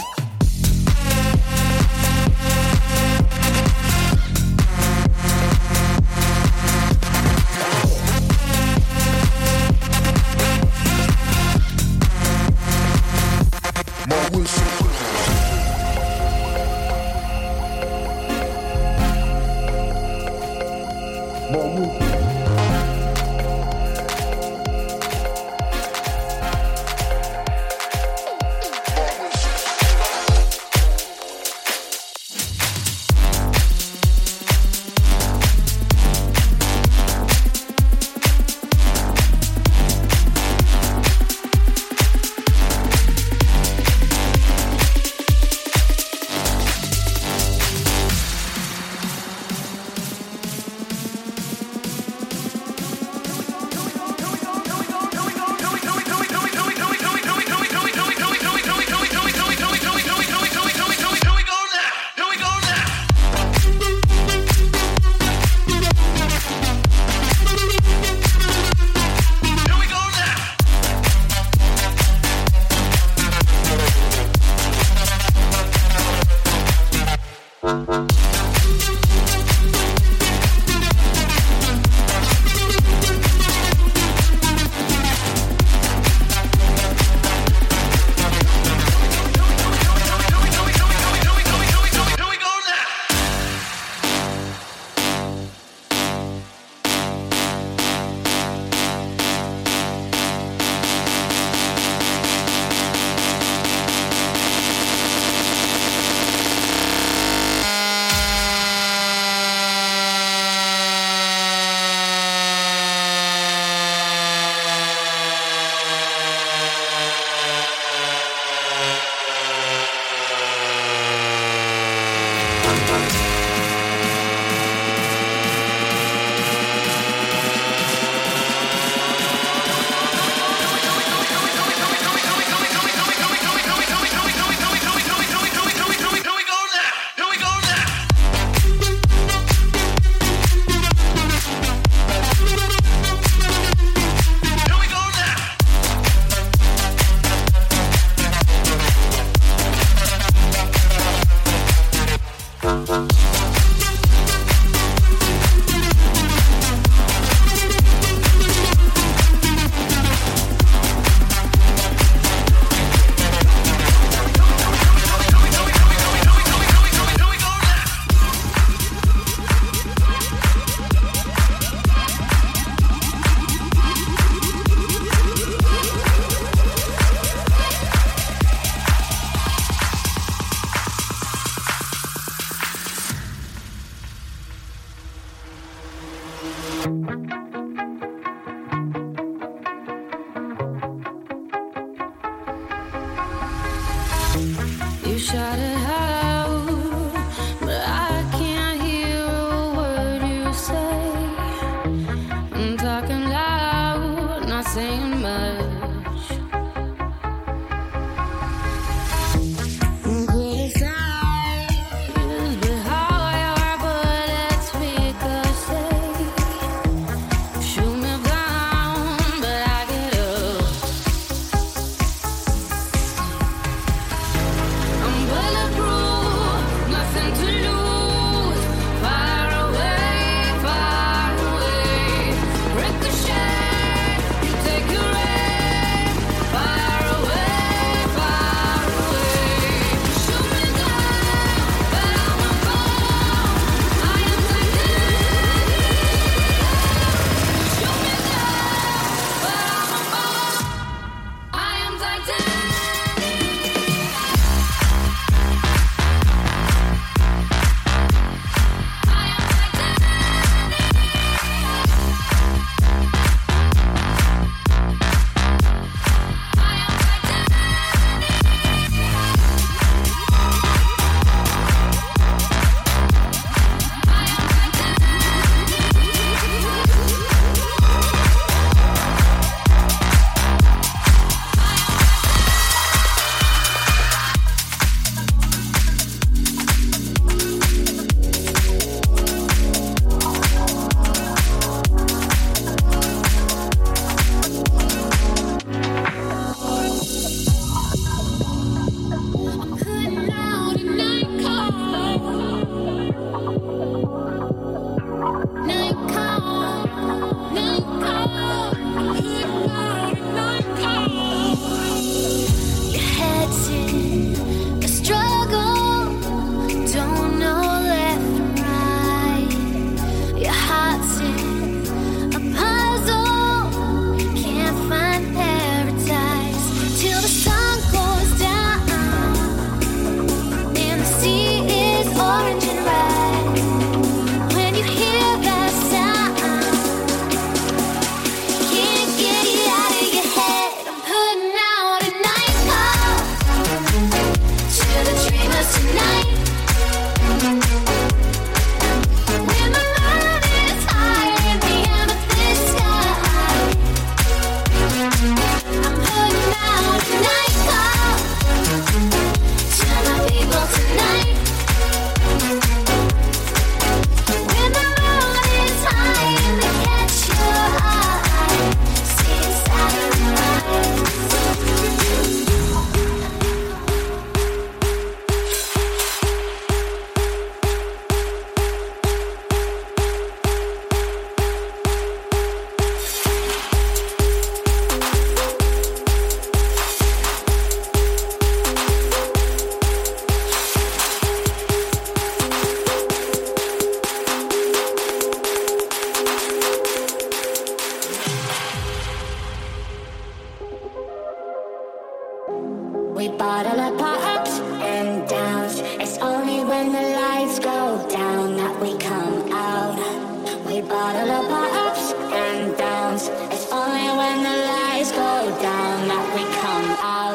bottle up our ups and downs. It's only when the lights go down that we come out.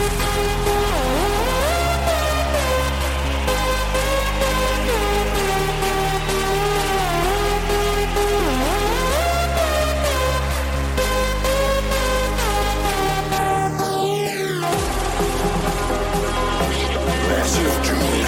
Massive June.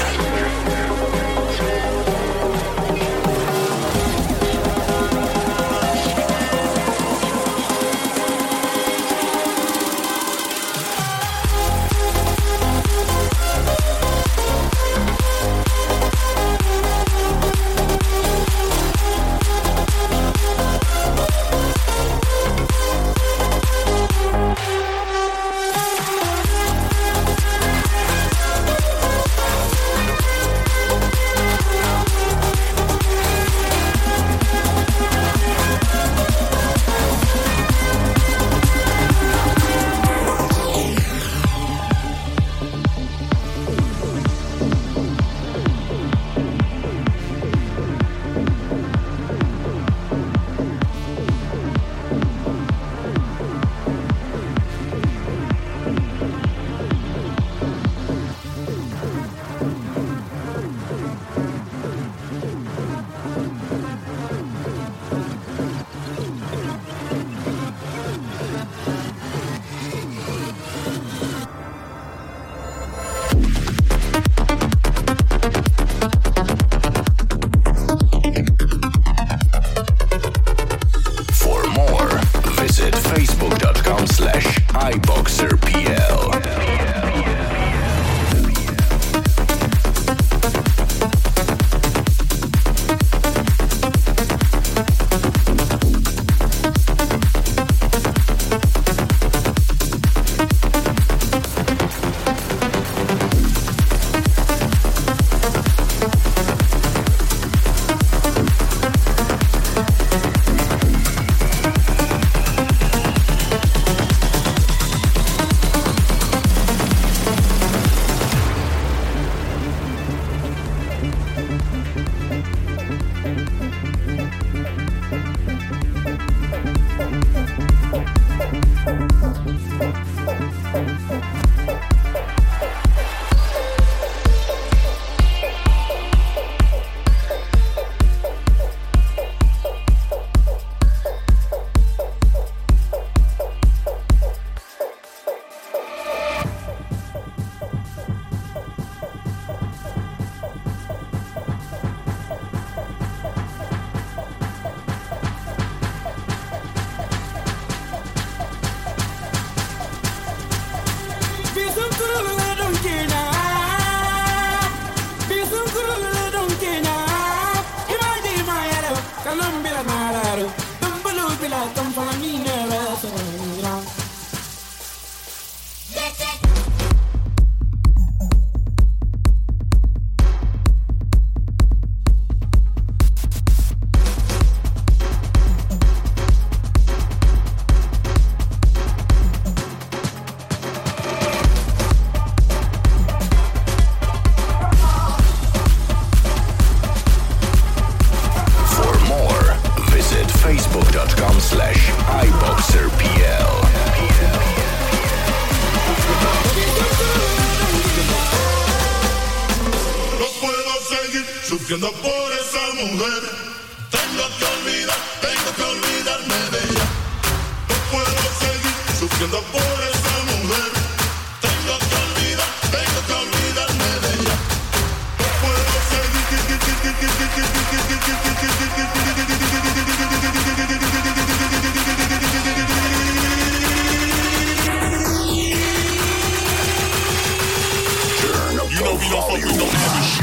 Facebook.com slash iBoxerPL. Facebook.com slash iBoxerPL. No puedo seguir sufriendo por esa mujer. Tengo que olvidar, tengo que olvidarme de ella. No puedo seguir sufriendo por esa mujer. Tengo que olvidar, tengo que olvidarme de ella. No puedo seguir. You know we don't fuck with no heavy shit.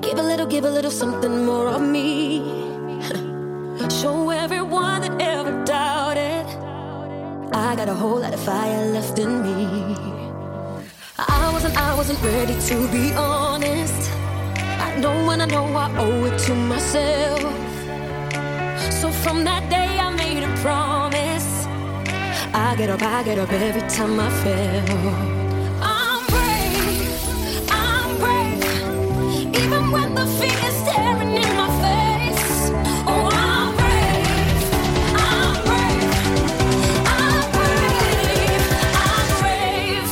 Give a little, give a little something more of me. Show everyone that ever doubted I got a whole lot of fire left in me. I wasn't, I wasn't ready to be honest. I know when I know I owe it to myself. So from that day I made a promise. I get up, I get up every time I fail. I'm brave, I'm brave, even when the fear is staring in my face. Oh, I'm brave, I'm brave, I'm brave, I'm brave.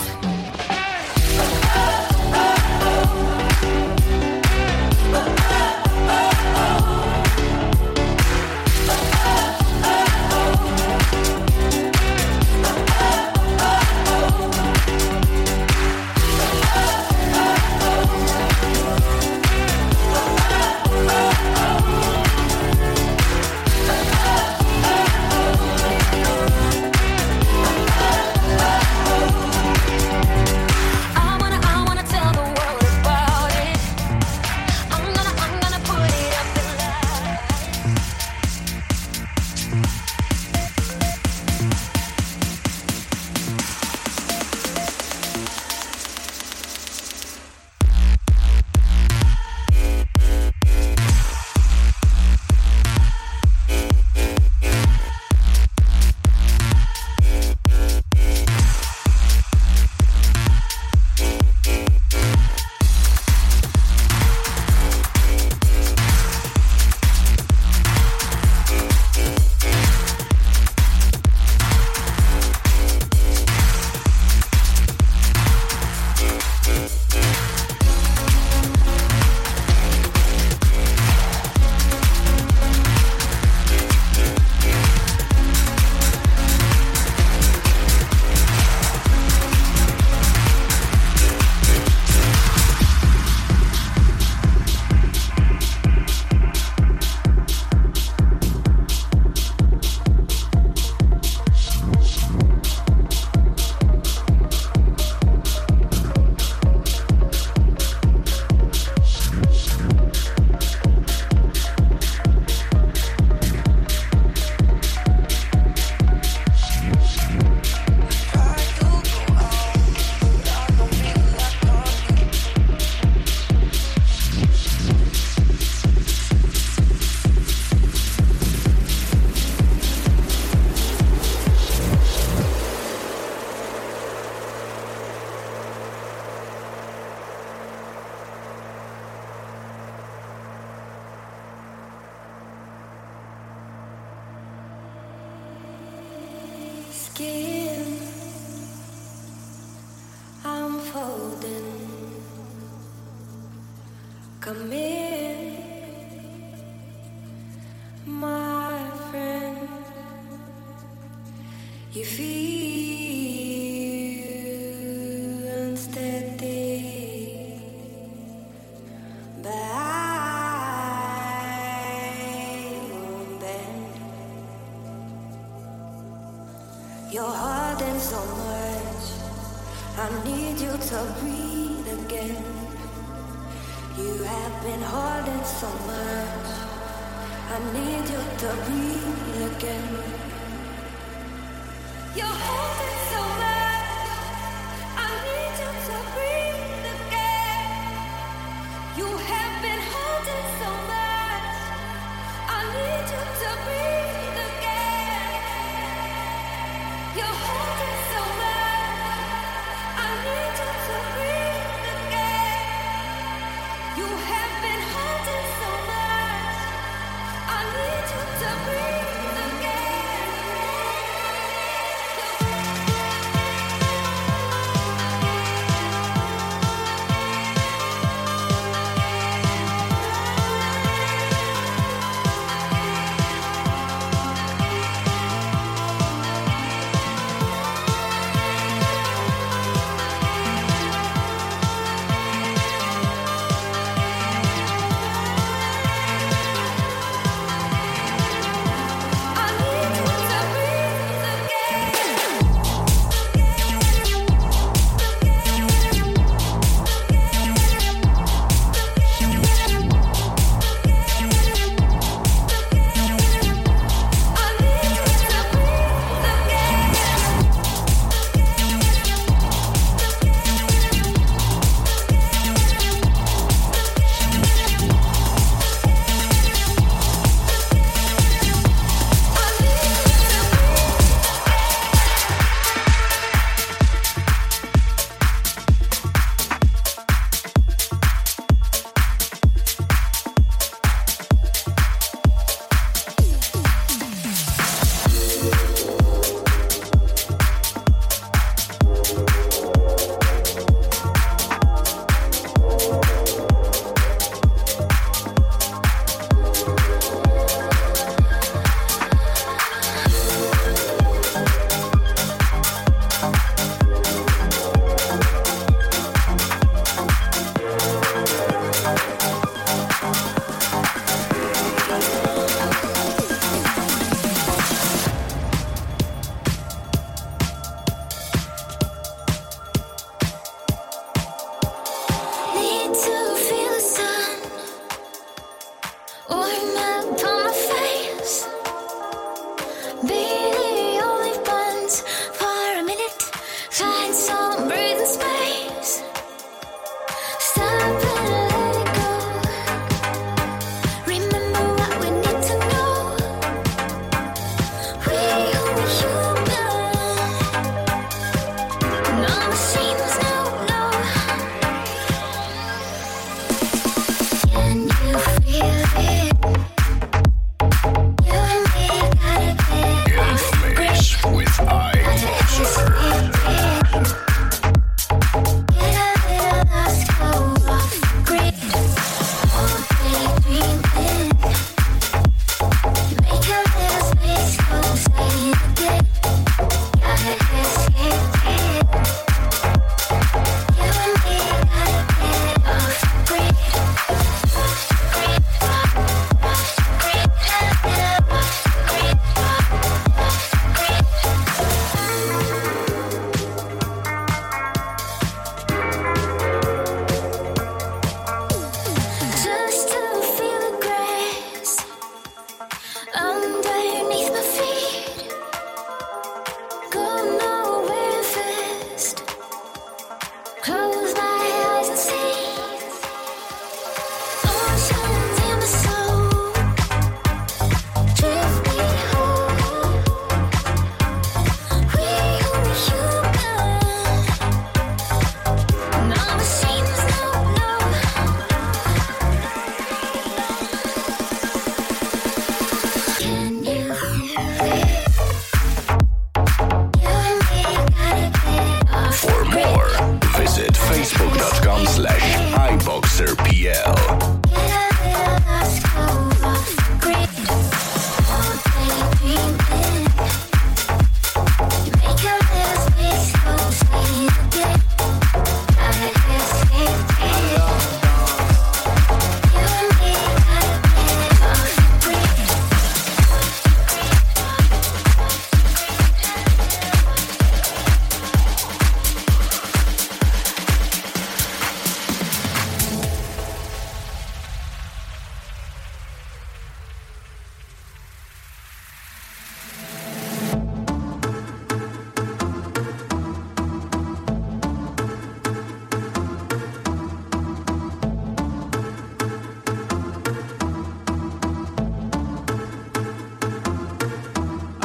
Skin, I'm folding. Come in, my friend. You feel unsteady, but I won't bend. You're hurting so much. I need you to breathe again. You have been holding so much. I need you to breathe again. You're holding so much. I need you to breathe again. You have been holding so much. I need you to breathe again. You're holding so much. I need you to breathe again. You have been holding so much. I need you to breathe again.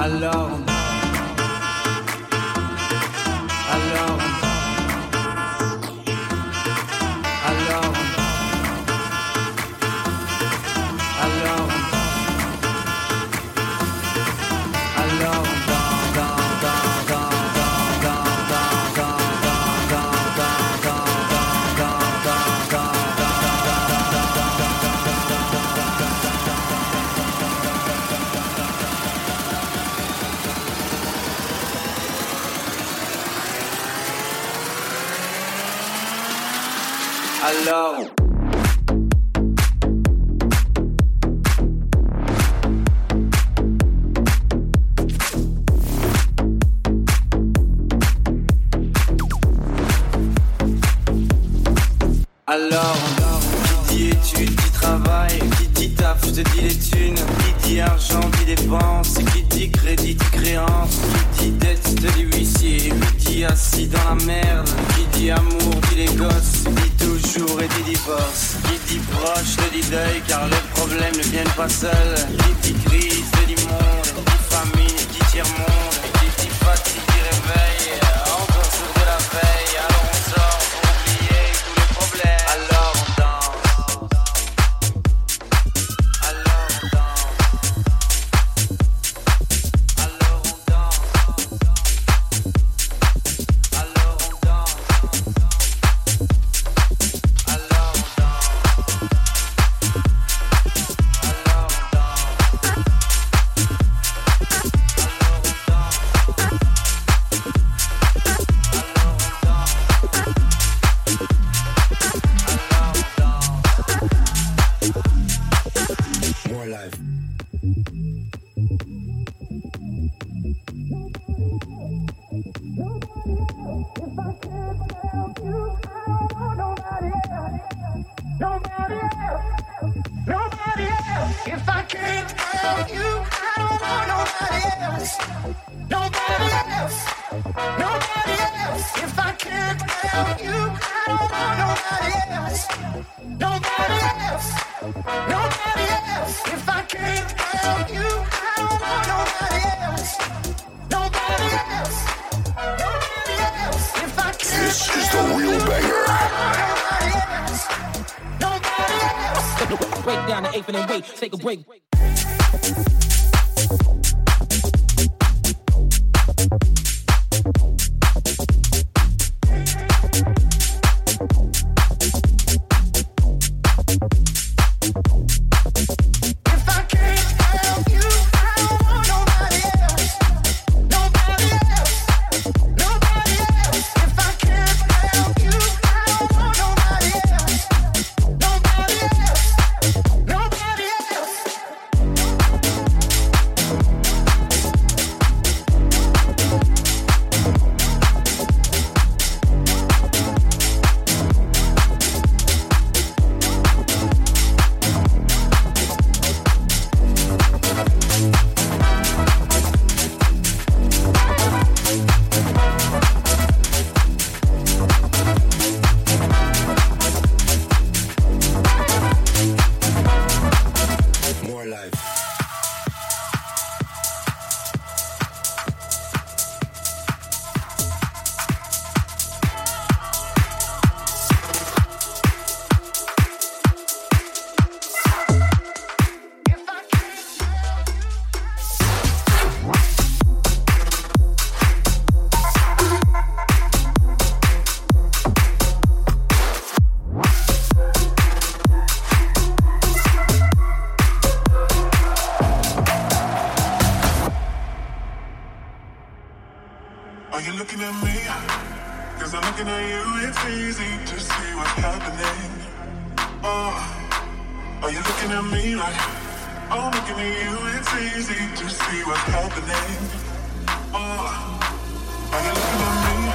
Alors, alors, alors, alors, alors, alors. Alors, qui dit études, dit travail, qui dit taf, je te dis les thunes, qui dit argent, dit dépenses, qui dit crédit, dit créance, qui dit dette, te dit huissier, qui dit assis dans la merde, qui dit amour, dit les gosses, dit toujours et dit divorce, qui dit proche, te dit deuil, car les problèmes ne viennent pas seuls, qui dit crise, te dit monde, qui dit famine, qui dit tiers-monde, qui dit fatigue, dit réveil, encore sur de la veille, alors on sort pour oublier tous les problèmes, alors on danse, alors on danse, alors on danse, alors on danse, alors on danse, More life. Nobody else, nobody else. If I can't have you, I don't want nobody else. Nobody else, nobody else. If I can't have you, I don't want nobody else. Nobody else, nobody else. If I can't have you, I don't want nobody else. Nobody else, nobody else. If I can't This is the real banger. Break down the eighth and then wait, take a break. Are you looking at me? Cause I'm looking at you, it's easy to see what's happening. Oh, are you looking at me like I'm looking at you, it's easy to see what's happening. Oh, are you looking at me?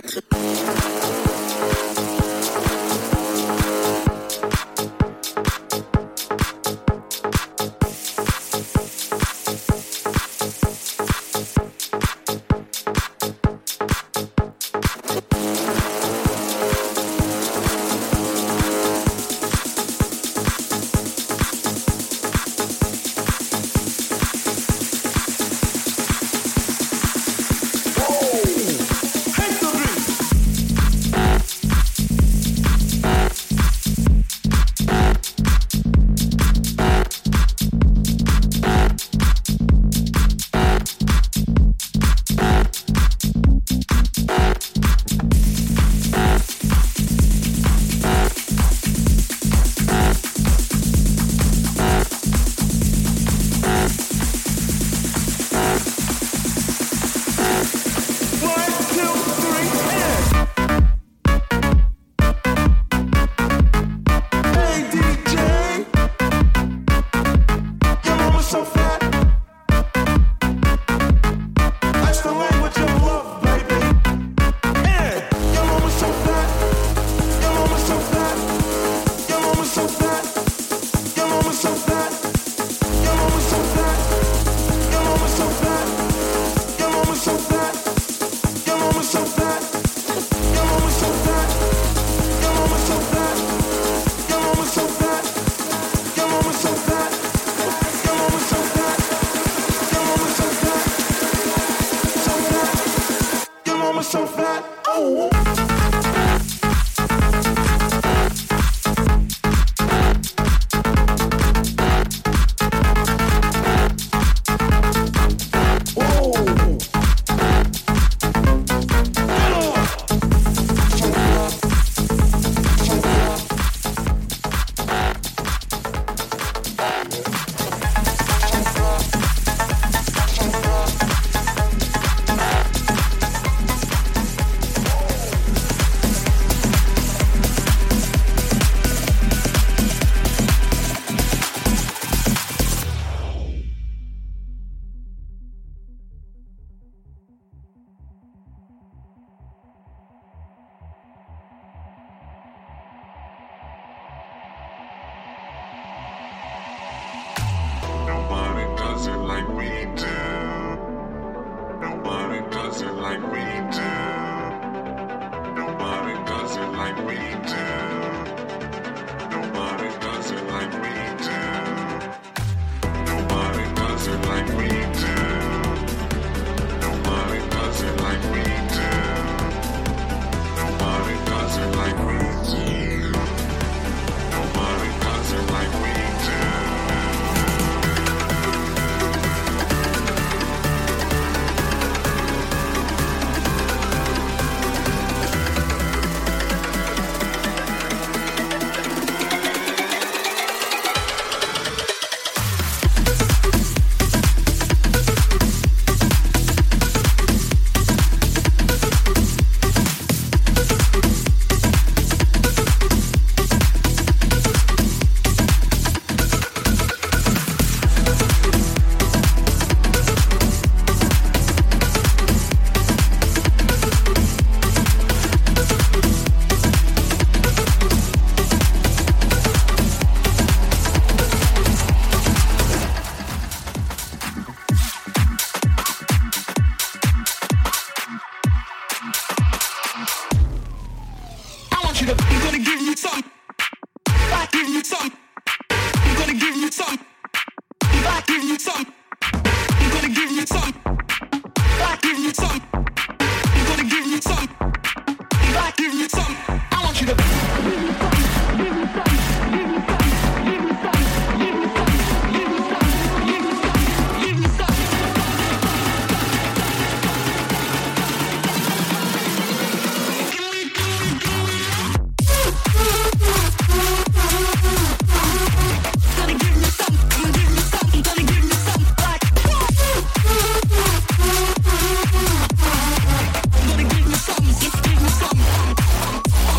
Give me some.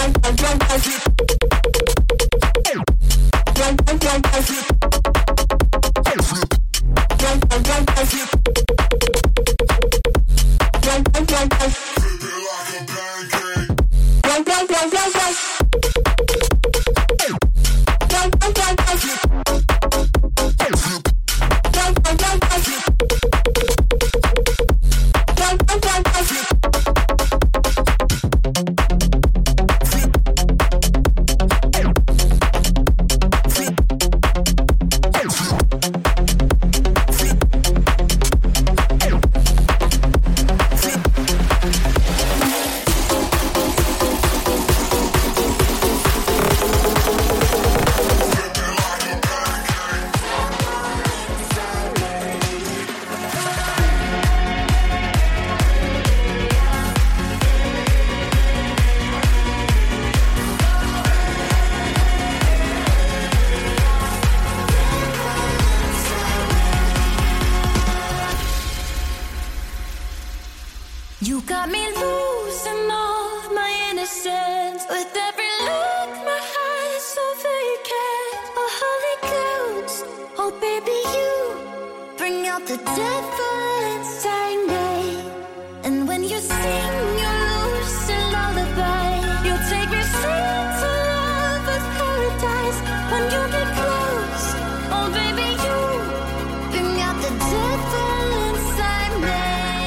You got me losing all of my innocence. With every look, my eyes so vacant. Oh, holy ghost, oh baby, you bring out the devil inside me. And when you sing your lucid lullaby, you take me straight to love with paradise. When you get close, oh baby, you bring out the devil inside me.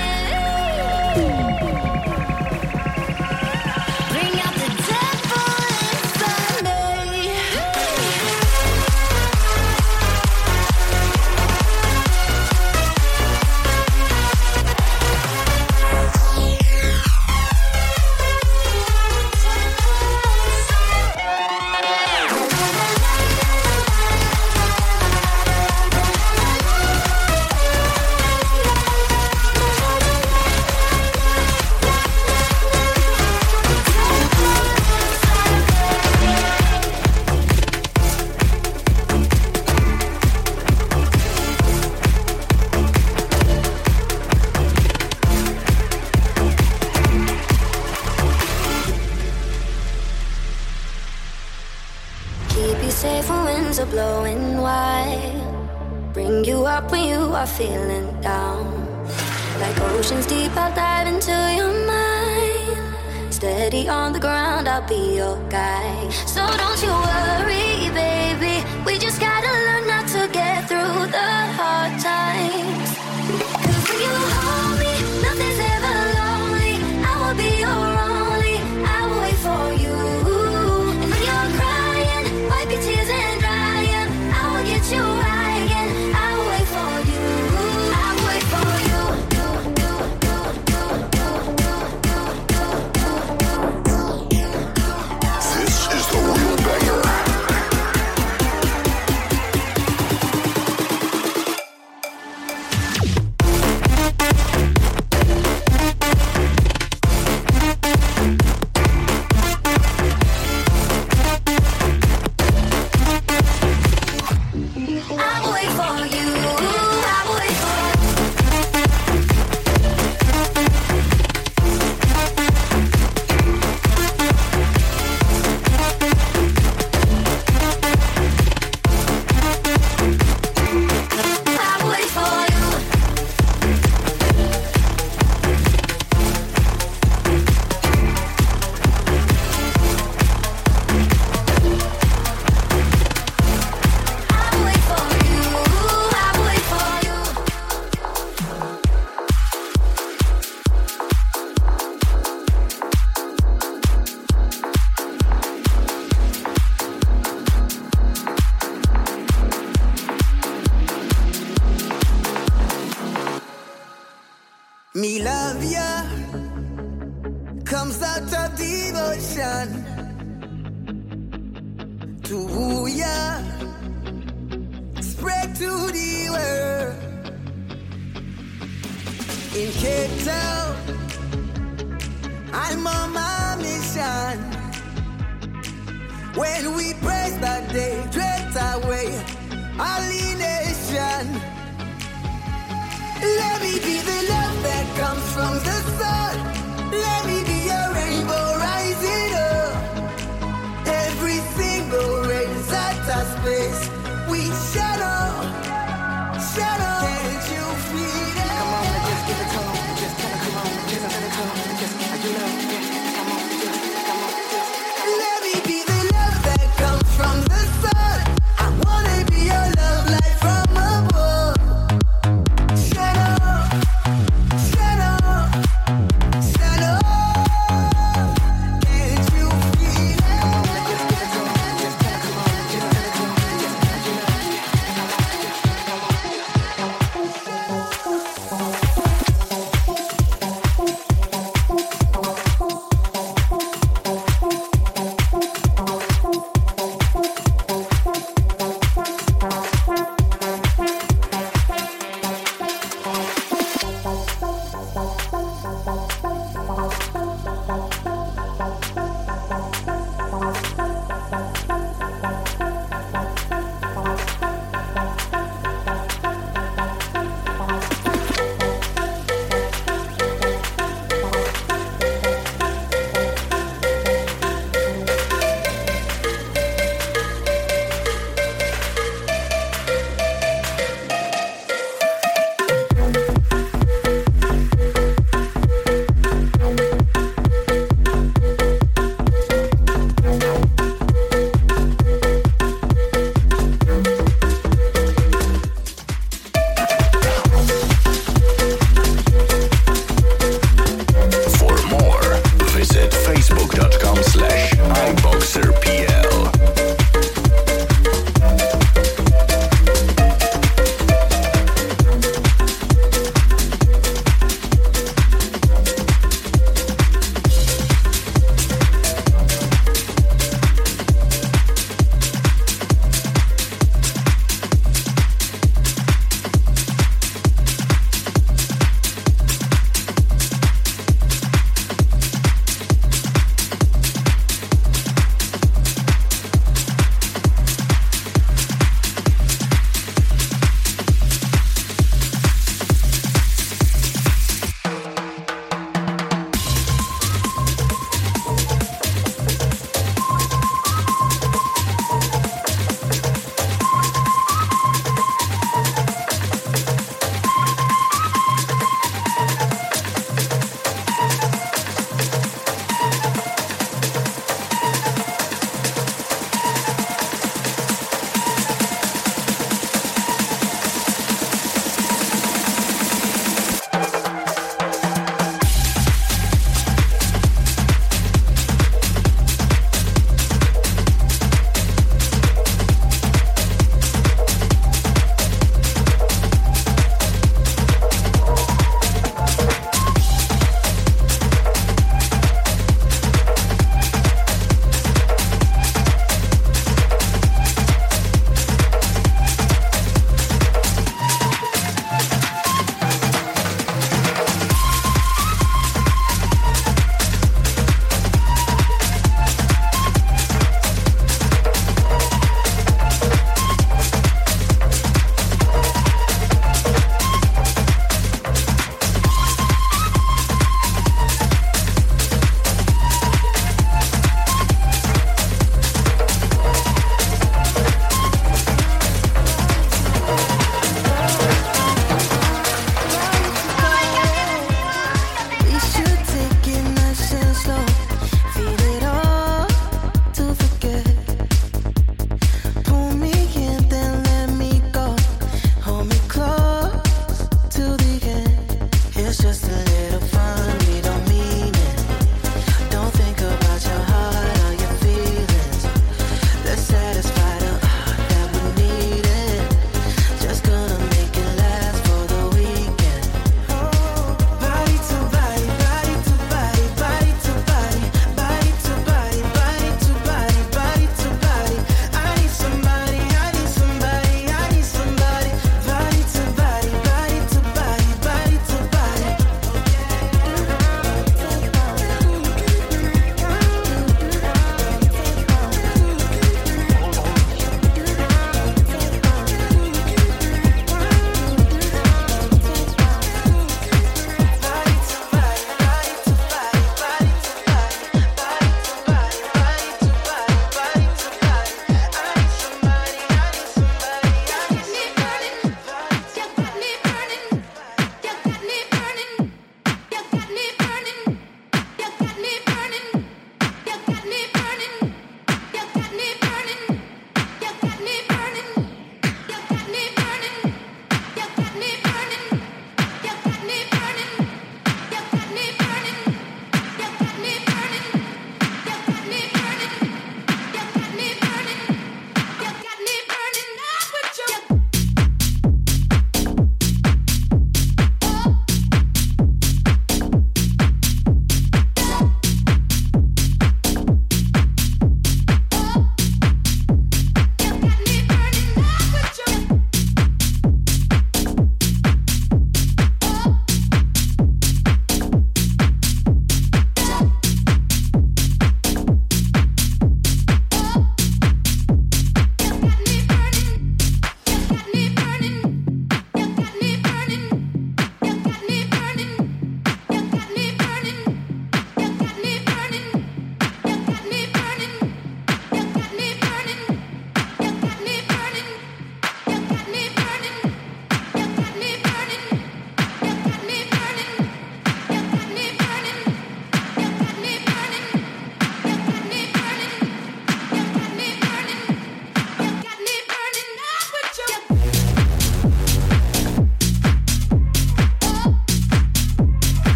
Bring out the devil inside me. Keep you safe when winds are blowing wide. Bring you up when you are feeling down. Like oceans deep, I'll dive into your mind. Steady on the ground, I'll be your guide. So don't you worry, baby. We just gotta learn not to get through the hard times. 'Cause when you hold me, nothing's ever lonely. I will be your only. I will wait for you. And when you're crying, wipe your tears and dry 'em. I will get you right again. I will wait for you. I will wait for you. This is the real banger. I will wait for you. I will wait for I will wait for you. I will wait for you. I will wait for you. Me love ya comes out of devotion to woo ya, spread to the world. In Cape Town, I'm on my mission. When we praise that day, drift away our nation. Let me be the love that comes from the sun. Let me be a rainbow rising up.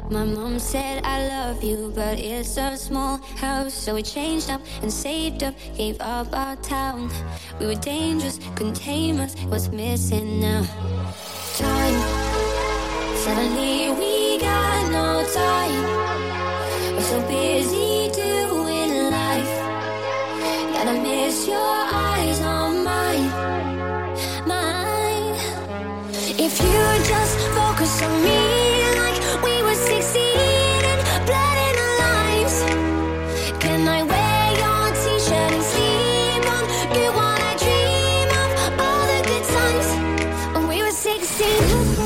My mom said I love you, but it's a small house. So we changed up and saved up, gave up our town. We were dangerous, couldn't tame us. What's missing now? Time. Suddenly we got no time. We're so busy doing life. Gotta miss your eyes on mine, mine. If you just focus on me like we were sixteen and blood in our lives. Can I wear your t-shirt and sleep on you while I dream of all the good times when we were sixteen?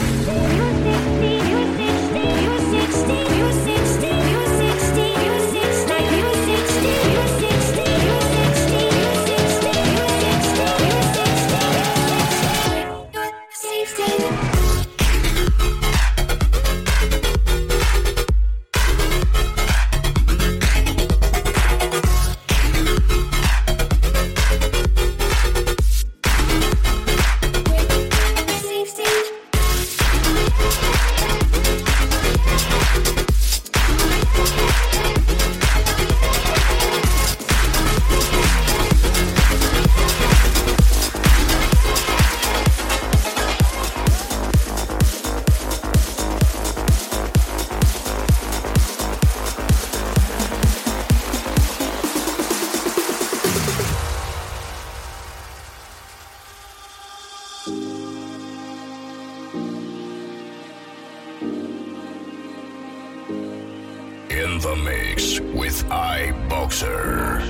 In the mix with iBoxer.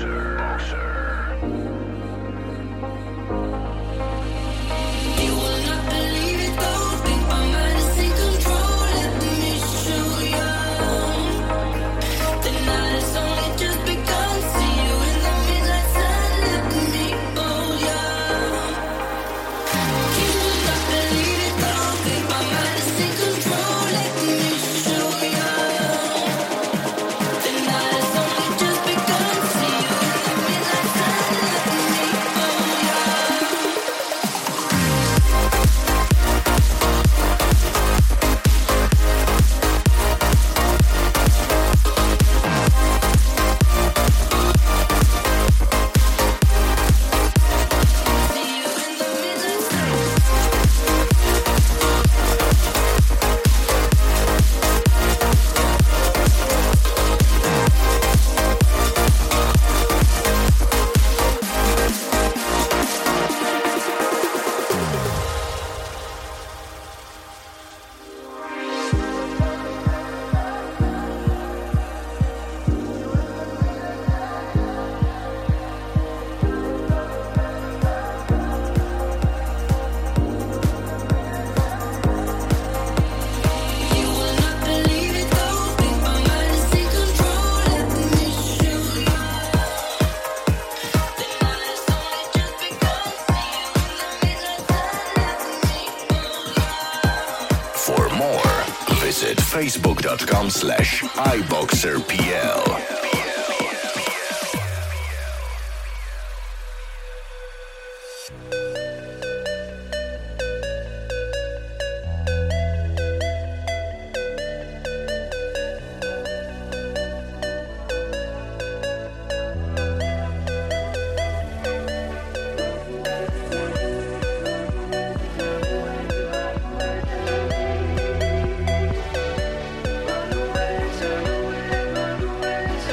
You will not believe it though. Think my mind is in control. Let me show you. The night has only just begun. See you in the midnight sun. Let me hold you. You will not believe it though. Think my mind is in control. Let me show you. The night has only just begun. See you in the midnight sun. Let me hold you. For more, visit facebook.com slash iBoxerPL. Turn away, turn away, run away.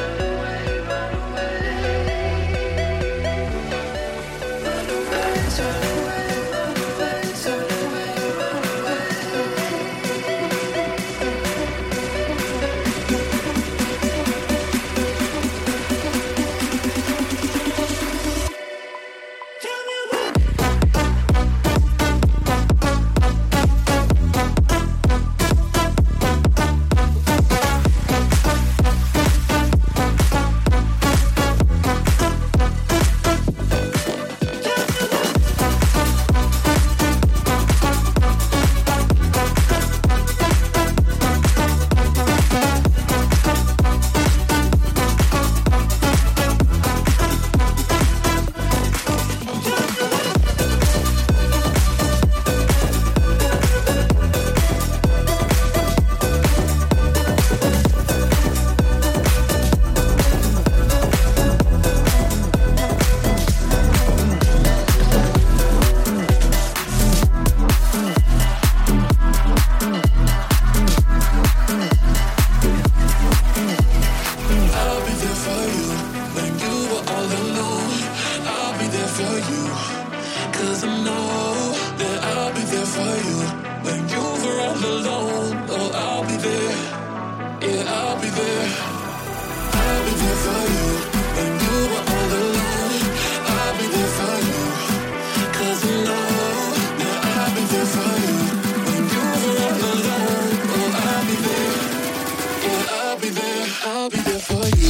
for you when you're all alone. Oh, I'll be there. Yeah, I'll be there. I'll be there for you when you are all alone. I'll be there for you, 'cause I know that I'll be there for you when you're all alone. Oh, I'll be there. Yeah, I'll be there. I'll be there for you.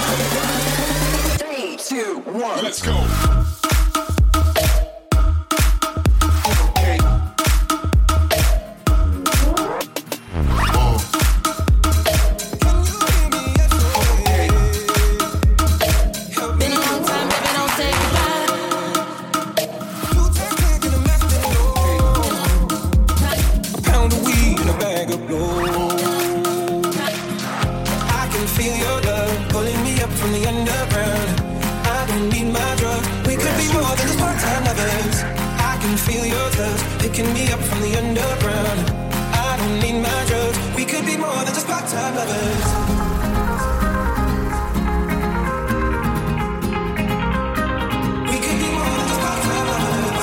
Three, two, one. Let's go. Picking me up from the underground. I don't need my drugs. We could be more than just part-time lovers. We could be more than just part-time lovers.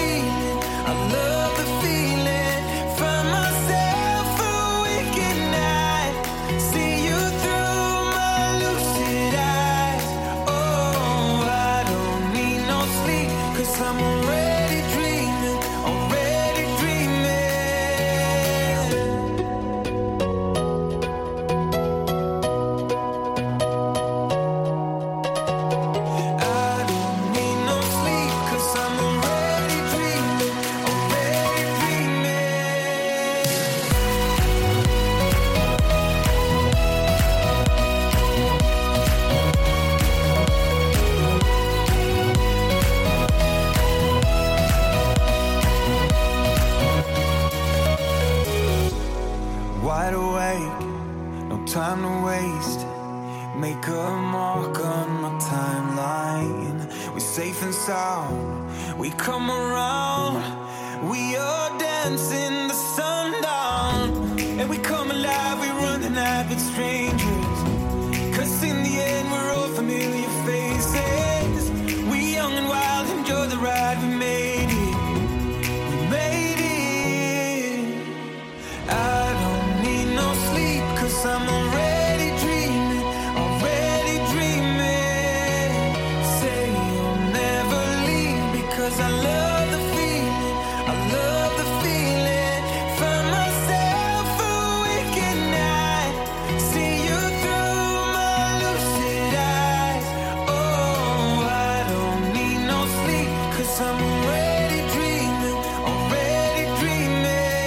I love the feeling. Find myself a weekend night. make a mark on my timeline. We're safe and sound, we come around. We are dancing the sundown, and we come alive, we run the night with strangers. Cause in the end we're all familiar faces. We young and wild, enjoy the ride, we made it. We made it. I don't need no sleep, cause I'm already dreaming, already dreaming. Say you'll never leave, because I love the feeling, I love the feeling. Find myself awake at night, see you through my lucid eyes. Oh, I don't need no sleep, cause I'm already dreaming, already dreaming.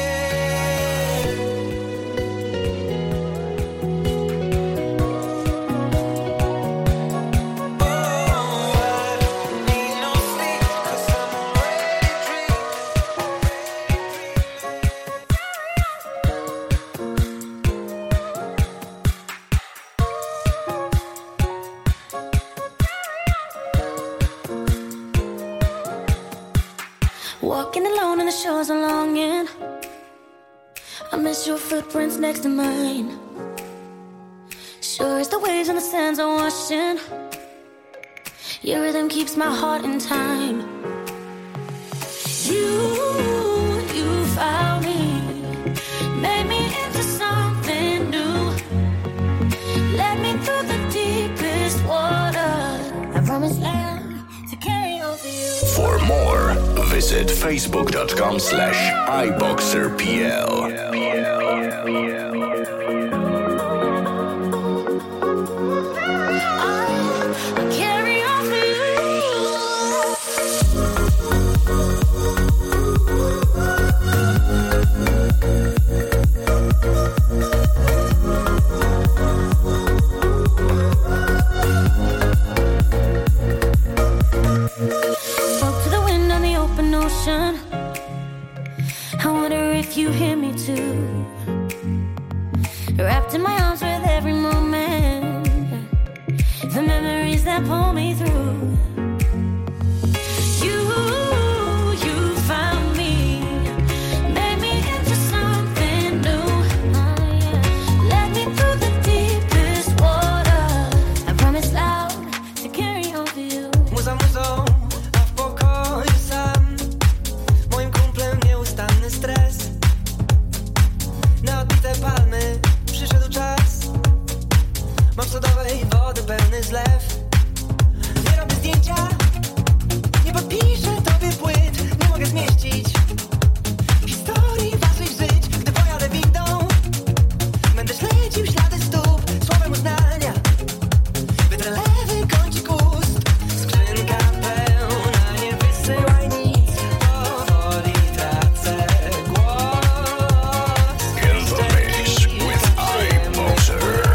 Walking alone on the shores of longing, I miss your footprints next to mine. Sure as the waves and the sands are washing, your rhythm keeps my heart in time. You, you found me, made me into something new, led me through the deepest water. I promise land to carry on for you. For more, visit facebook.com slash iBoxerPL. I carry on for Spoke to the wind on the open ocean. I wonder if you hear me too. Wrapped in my arms with every moment, the memories that pull me through. You, you found me, made me into something new. Oh, yeah. Led me through the deepest water. I promise loud to carry on for you. Muza, muzo, a w pokoju sam. Moim kumplem nieustanny stres. Na odbite palmy przyszedł czas. Mam sodowej wody pełny zlew. Nie robię zdjęcia, nie podpiszę tobie płyt. Nie mogę zmieścić historii waszych żyć. Gdy pojadę windą, będę śledził ślady stóp. Słowem uznania wytrę lewy kącik ust. Skrzynka pełna, nie wysyłaj nic. Powoli tracę głos. In the mix with iBoxer.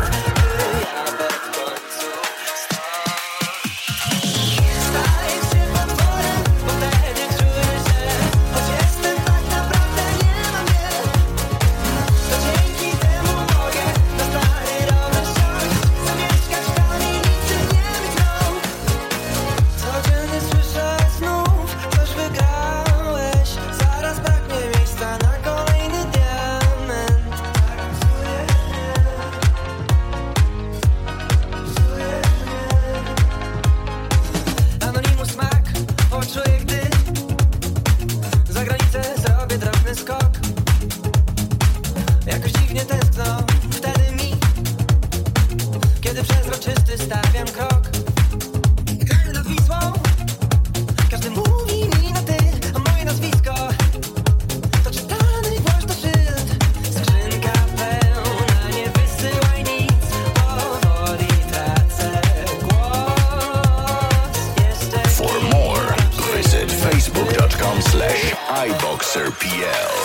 Stajesz się potworem, bo wtedy czuję, że choć jestem tak naprawdę nie mam wiele, to dzięki temu mogę na stary rower wsiąść, zamieszkać w kamienicy, nie mieć rąk. Codziennie słyszę znów, coś wygrałeś, zaraz braknie miejsca na kolejny diament. Tak psuje mnie, psuje mnie. Anonimus smak, poczuję, gdy za granicę zrobię drobny skok. Jakoś dziwnie tęskno wtedy mi, kiedy przezroczysty stawiam krok. Kraj nad Wisłą, każdy mówi mi na ty, a moje nazwisko to czytany głośno szyld. Skrzynka pełna, nie wysyłaj nic, powoli tracę głos. Jeszcze For more, visit facebook.com slash iBoxerPL.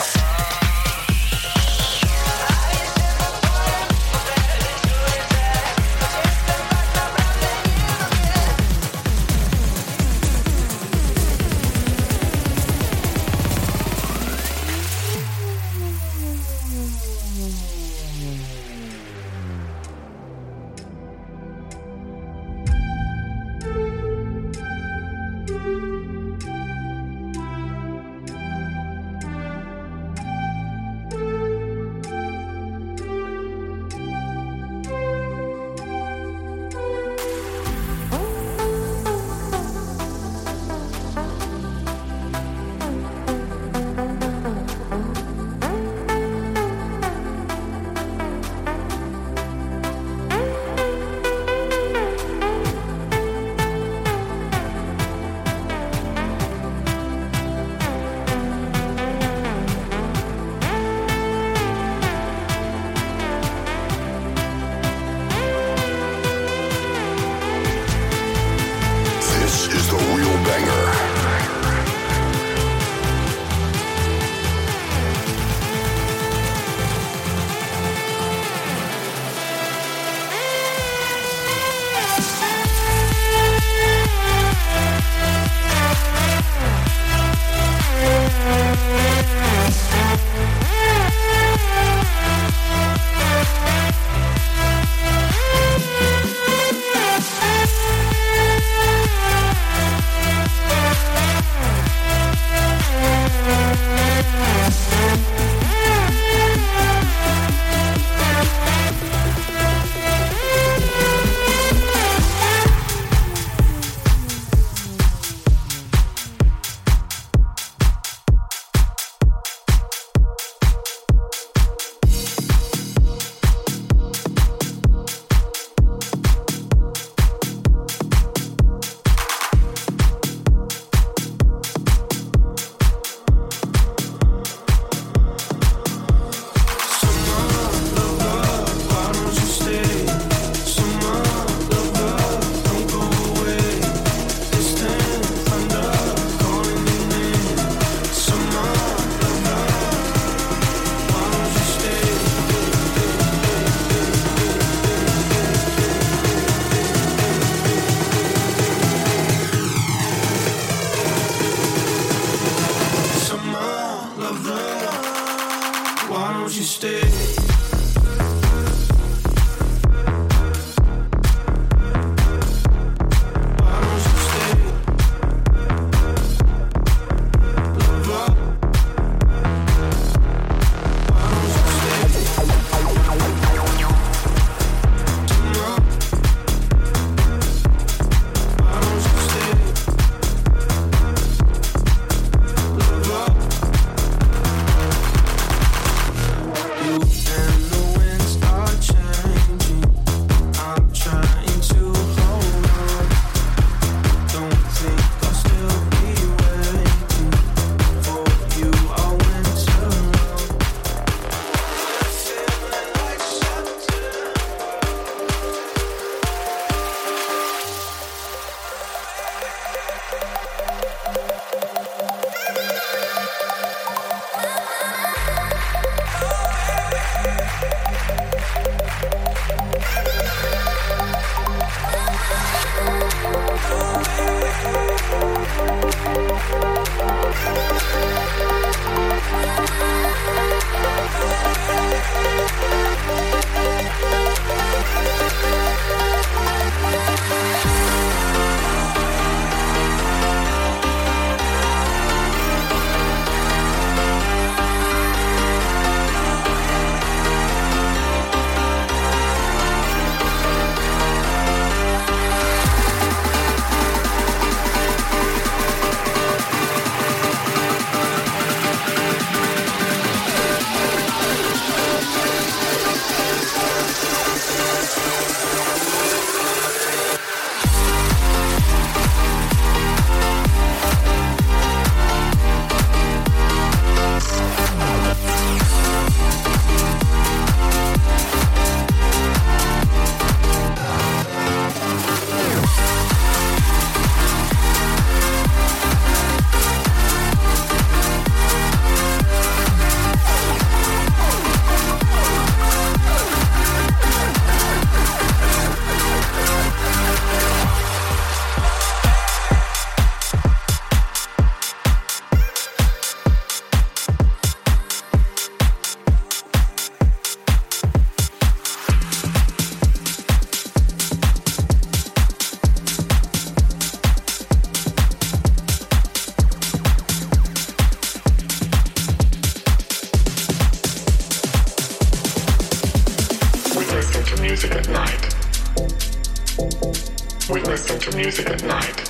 We listen to music at night.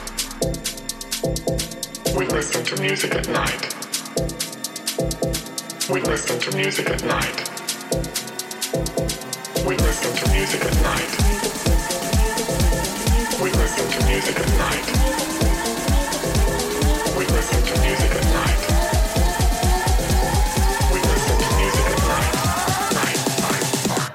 We listen to music at night. We listen to music at night. We listen to music at night. We listen to music at night. We listen to music at night. We listen to music at night. Night, night, night.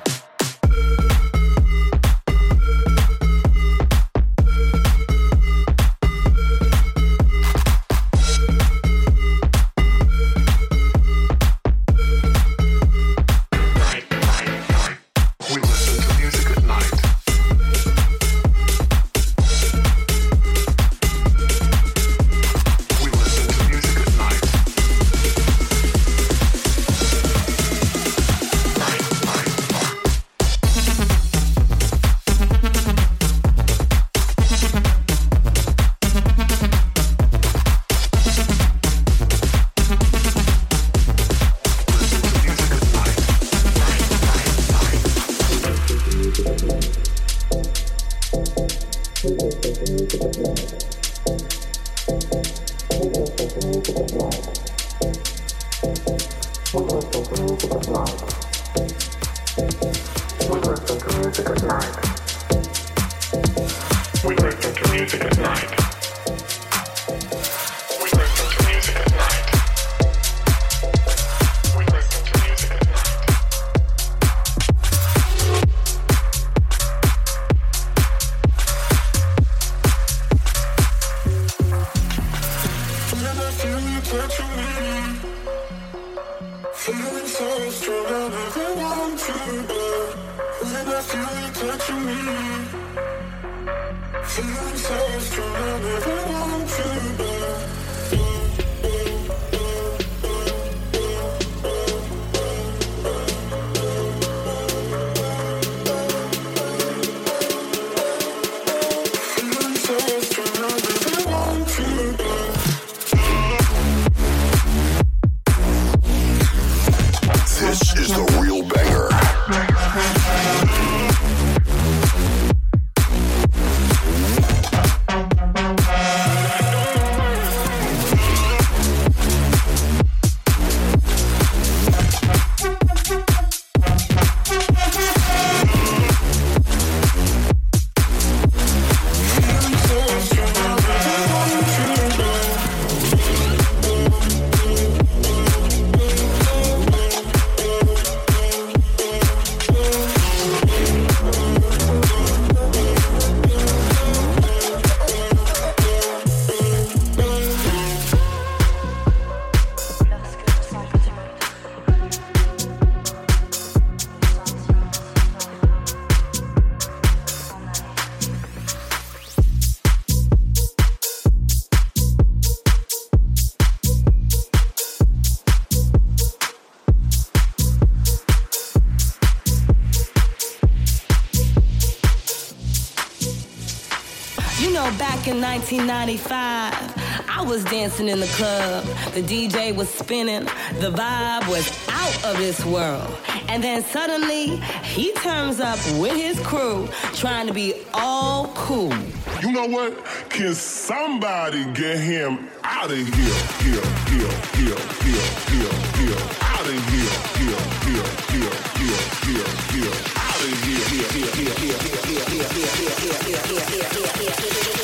In nineteen ninety-five, I was dancing in the club. The D J was spinning. The vibe was out of this world. And then suddenly, he turns up with his crew, trying to be all cool. You know what? Can somebody get him out of here? Here, here, here, here, here, here. Out of here, here, here, here, here, here, here. Out of here, here, here, here, here, here, here, here, here, here, here, here, here.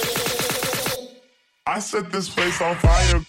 I set this place on fire.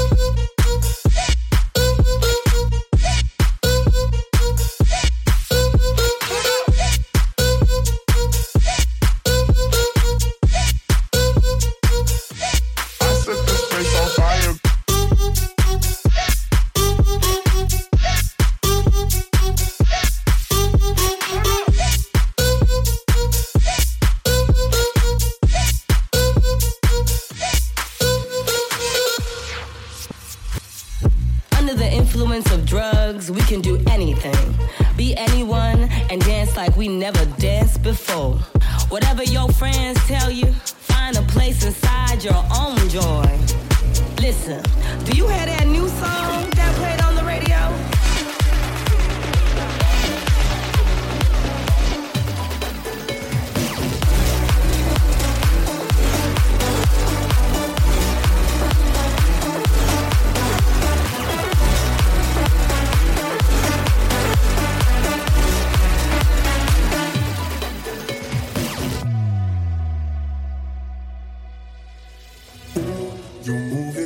We can do anything, be anyone, and dance like we never danced before. Whatever your friends tell you, find a place inside your own joy. Listen, do you hear that new song that played on the radio?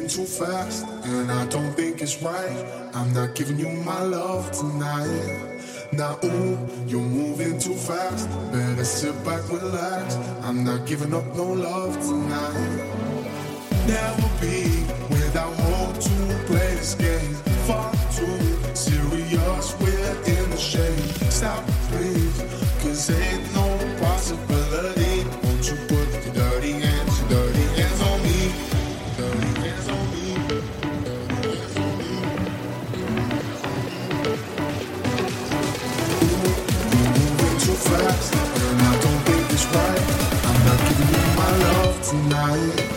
too fast, and I don't think it's right. I'm not giving you my love tonight. Now, ooh, you're moving too fast. Better sit back, relax. I'm not giving up no love tonight. Never be without hope to play this game. Far too serious, we're in the shade. Stop, please, cause ain't no possibility. Won't you put your dirty hands, your dirty hands on me? Dirty hands on me. You're moving too fast, and I don't think it's right. I'm not giving you my love tonight.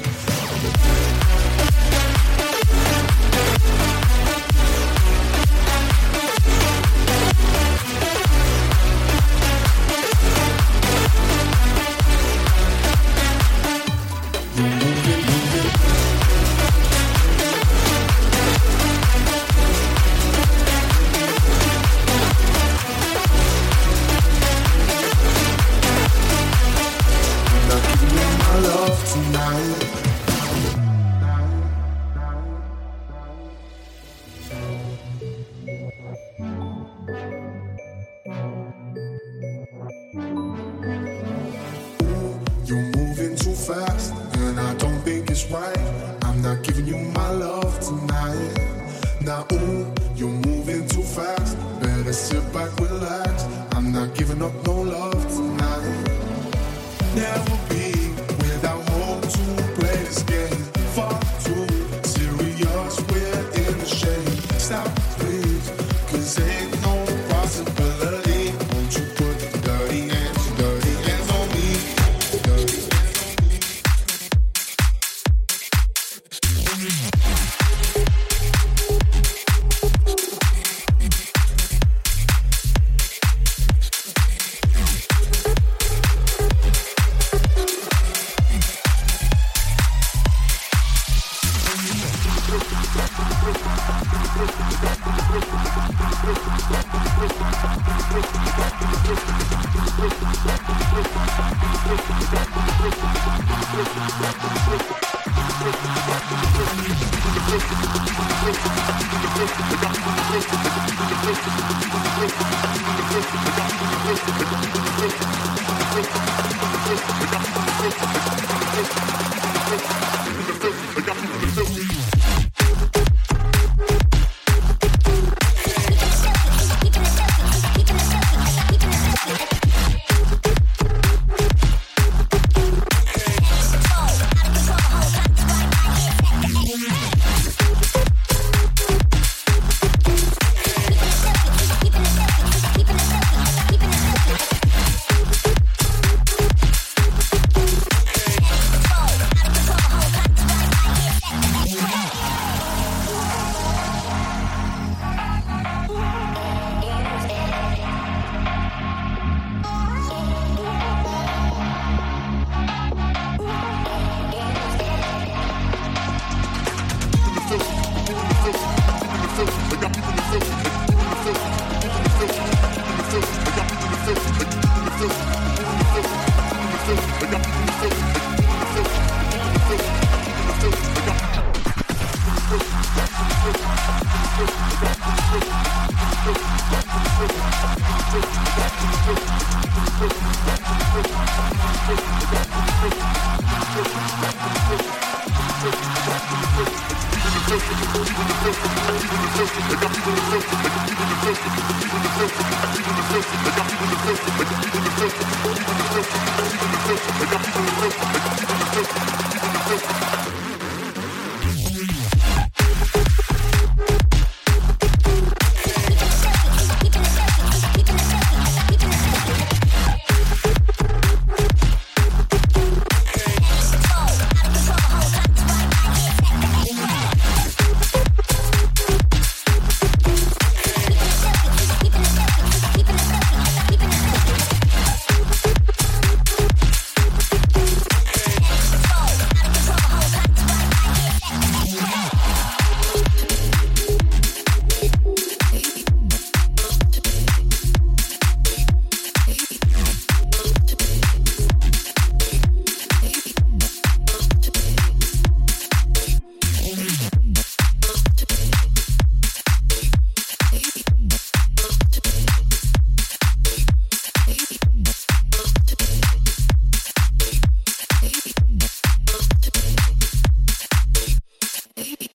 I got